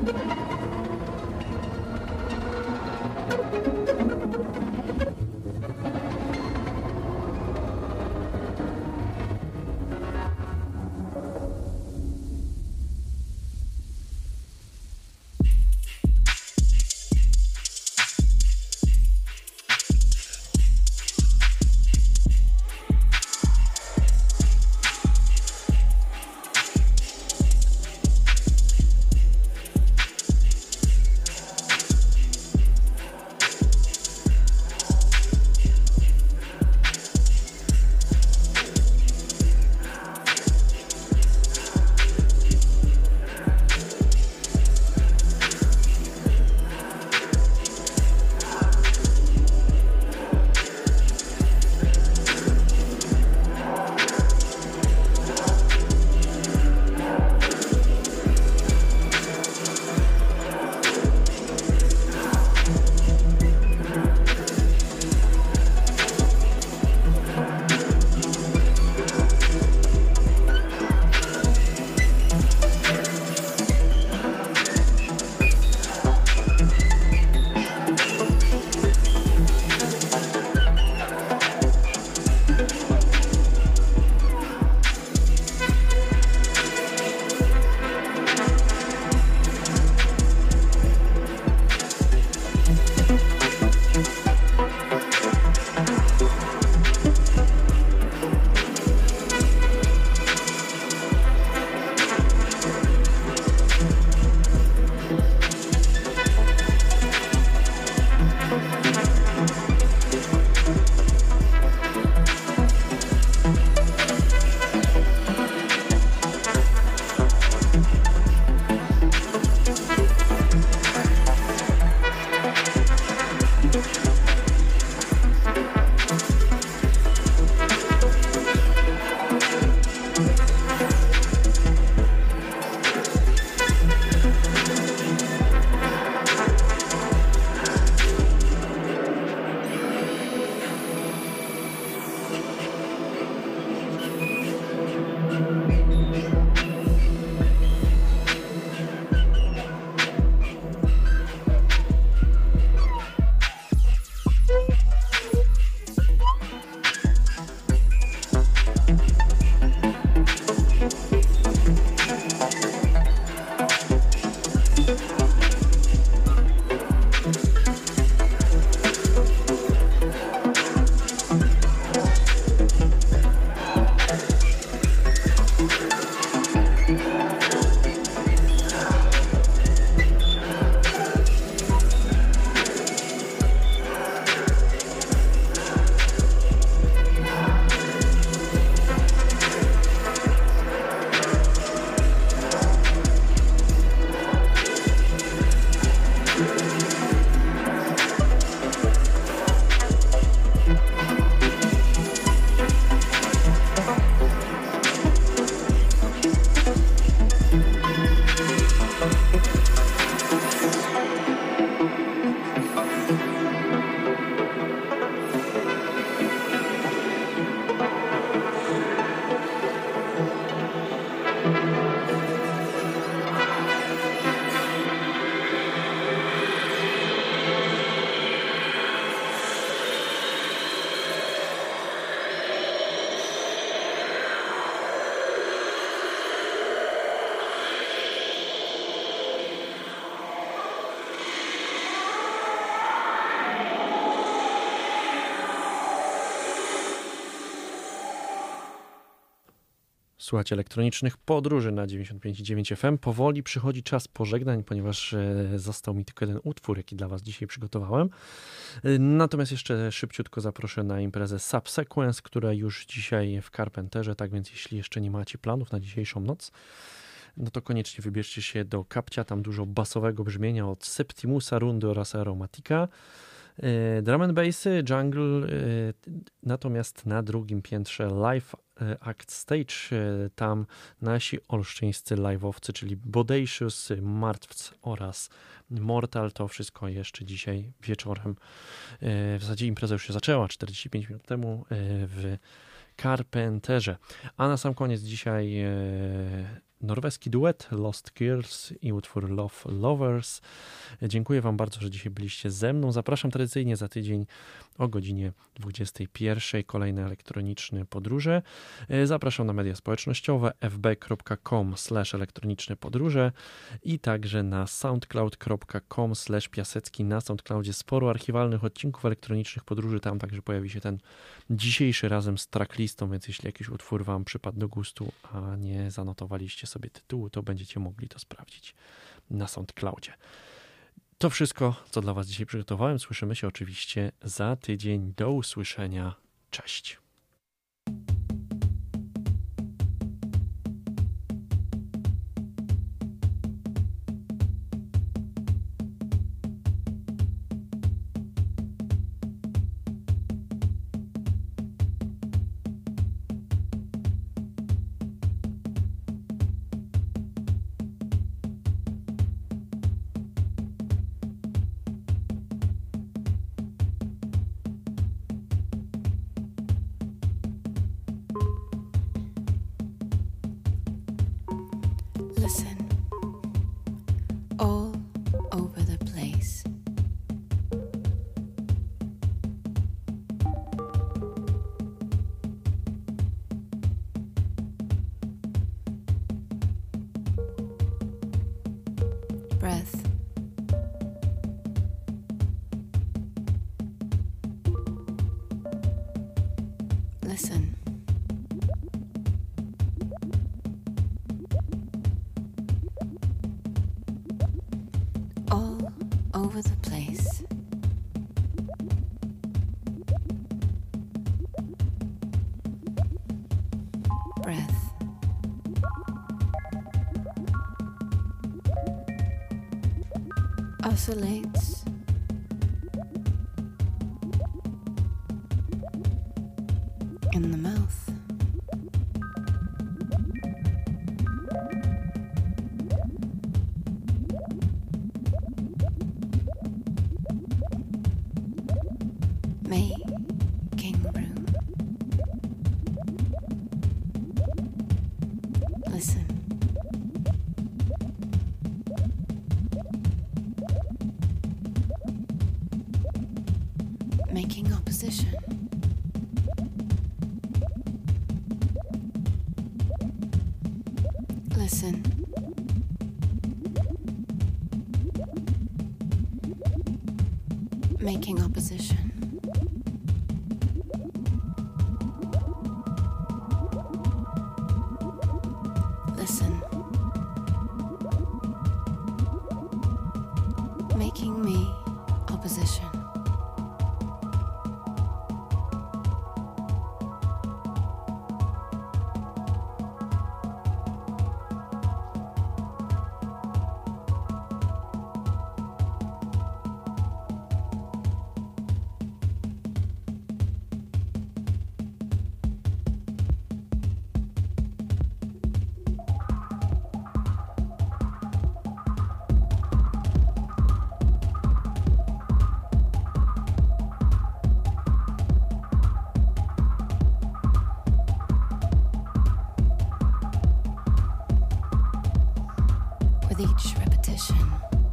Słuchajcie elektronicznych podróży na 95,9 FM. Powoli przychodzi czas pożegnań, ponieważ został mi tylko jeden utwór, jaki dla Was dzisiaj przygotowałem. Natomiast jeszcze szybciutko zaproszę na imprezę Subsequence, która już dzisiaj w Carpenterze, tak więc jeśli jeszcze nie macie planów na dzisiejszą noc, no to koniecznie wybierzcie się do Kapcia, tam dużo basowego brzmienia od Septimusa, Rundy oraz Aromatica. Drum and bassy, jungle, natomiast na drugim piętrze Live Act Stage, tam nasi olsztyńscy live'owcy, czyli Bodacious, Martwc oraz Mortal, to wszystko jeszcze dzisiaj wieczorem. W zasadzie impreza już się zaczęła 45 minut temu w Carpenterze. A na sam koniec dzisiaj norweski duet Lost Girls i utwór Love Lovers. Dziękuję wam bardzo, że dzisiaj byliście ze mną. Zapraszam tradycyjnie za tydzień o godzinie 21:00 kolejne elektroniczne podróże. Zapraszam na media społecznościowe fb.com/elektroniczne podróże i także na soundcloud.com/Piasecki. Na Soundcloudzie sporo archiwalnych odcinków elektronicznych podróży. Tam także pojawi się ten dzisiejszy razem z tracklistą, więc jeśli jakiś utwór wam przypadł do gustu, a nie zanotowaliście sobie tytułu, to będziecie mogli to sprawdzić na SoundCloudzie. To wszystko, co dla was dzisiaj przygotowałem. Słyszymy się oczywiście za tydzień. Do usłyszenia. Cześć. Listen, all over the place. Breath. Listen. All over the place. Breath. Oscillates. In the mouth. Making room. Listen. Making opposition. Listen. Making opposition. Listen. Making me opposition. With each repetition,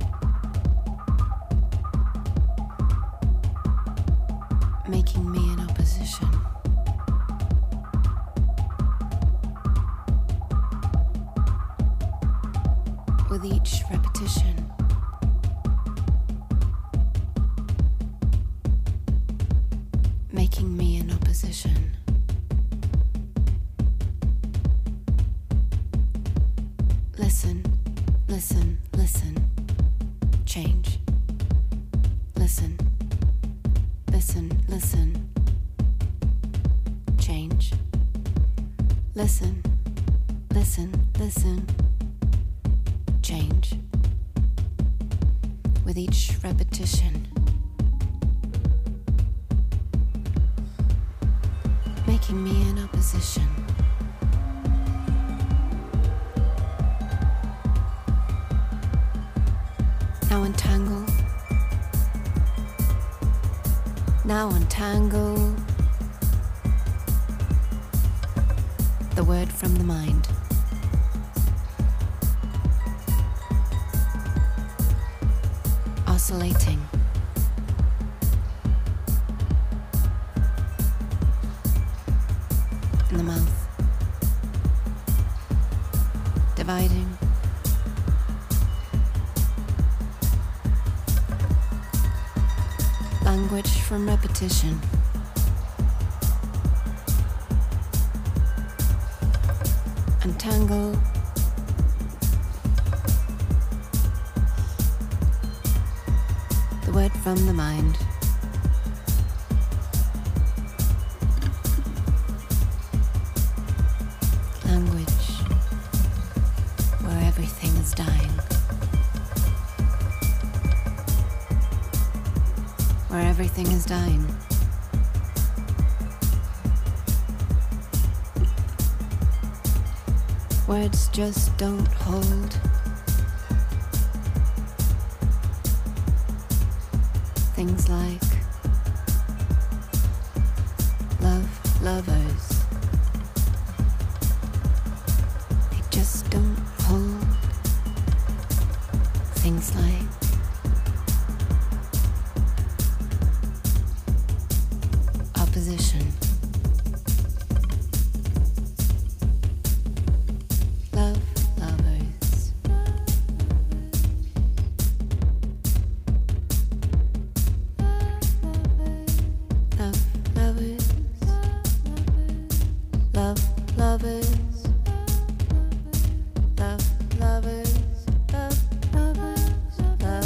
making me an opposition. With each repetition, making me an opposition. Listen. Listen, listen, change. Listen, listen, listen, change. Listen, listen, listen, change. With each repetition, making me an opposition. Now untangle. Now untangle the word from the mind. oscillating. In the mouth, dividing. Language from repetition. Untangle. The word from the mind. Language where everything is dying. Where everything is dying. Words just don't hold. Things like love, lovers. They just don't hold. Things like opposition. Love, lovers. Love, lovers. Love, lovers. Love, lovers. Love, lovers. Love,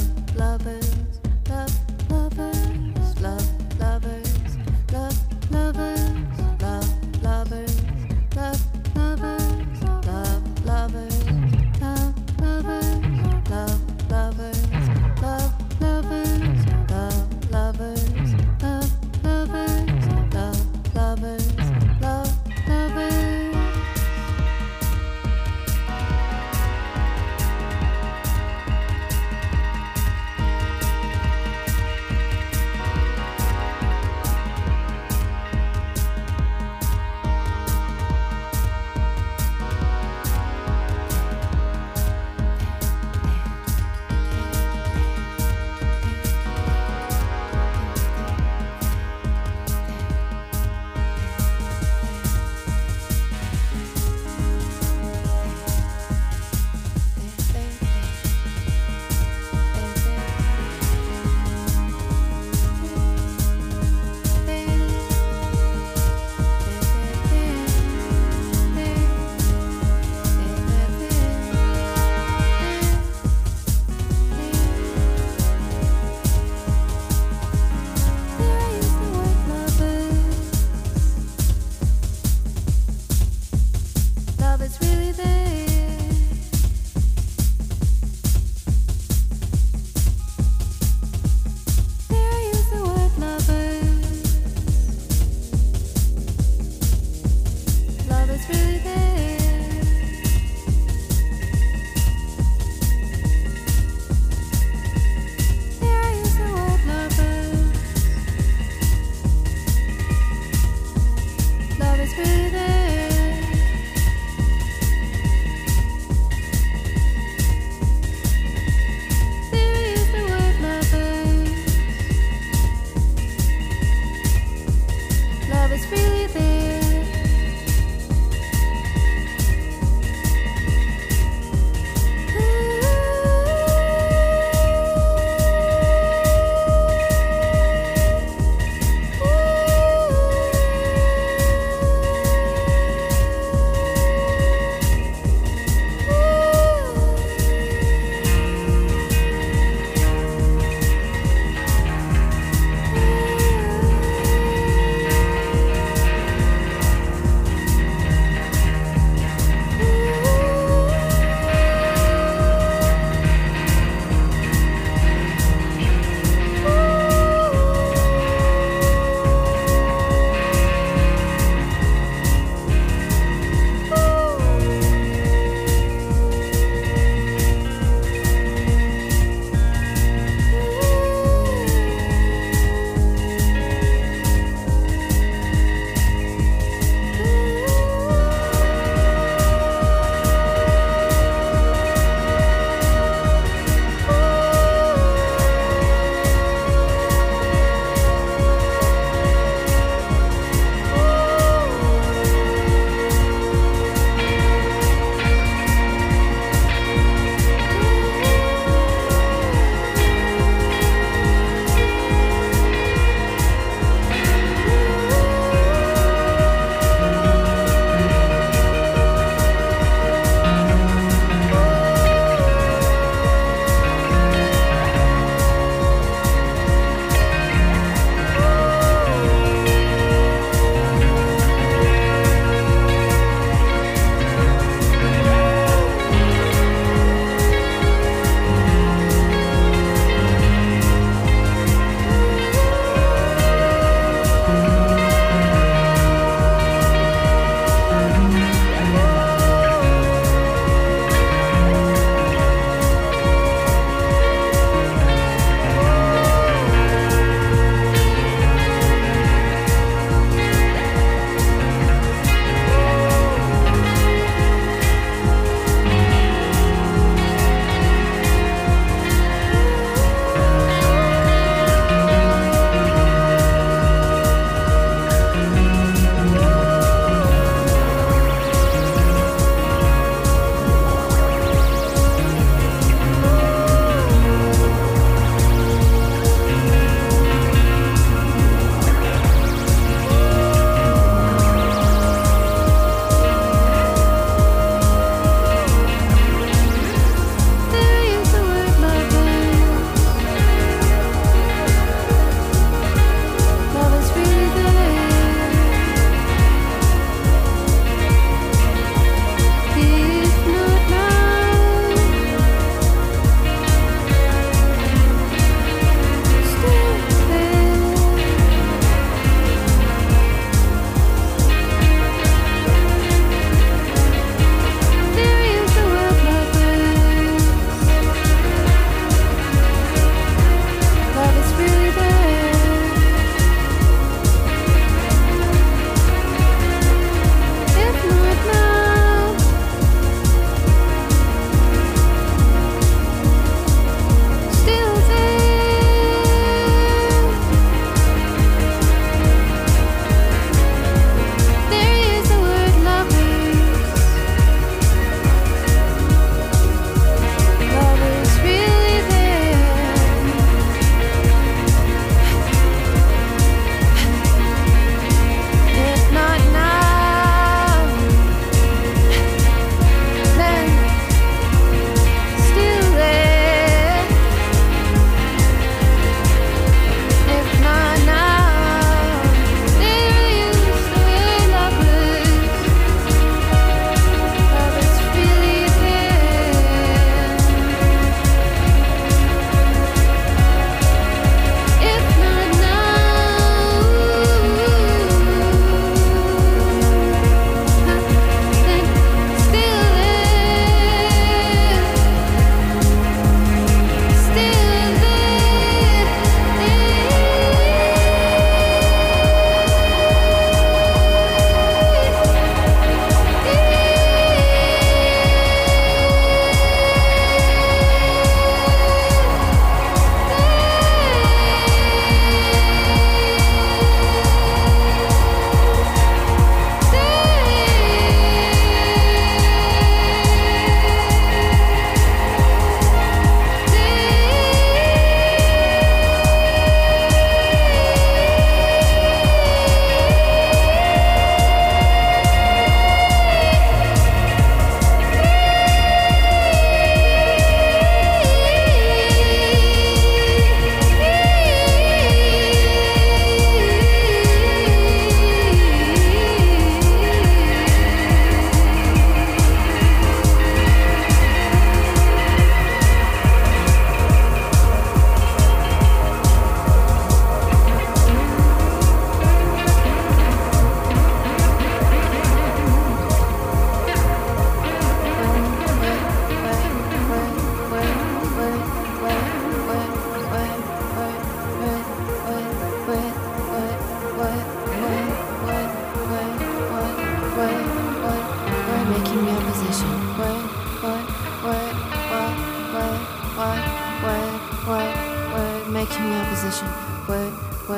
making me opposition. Word,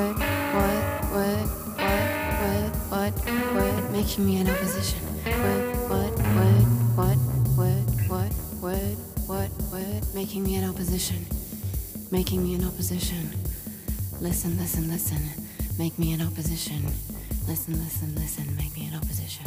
making me an opposition. Word, making me an opposition. Making me an opposition. Listen, make me an opposition. Listen, make me an opposition.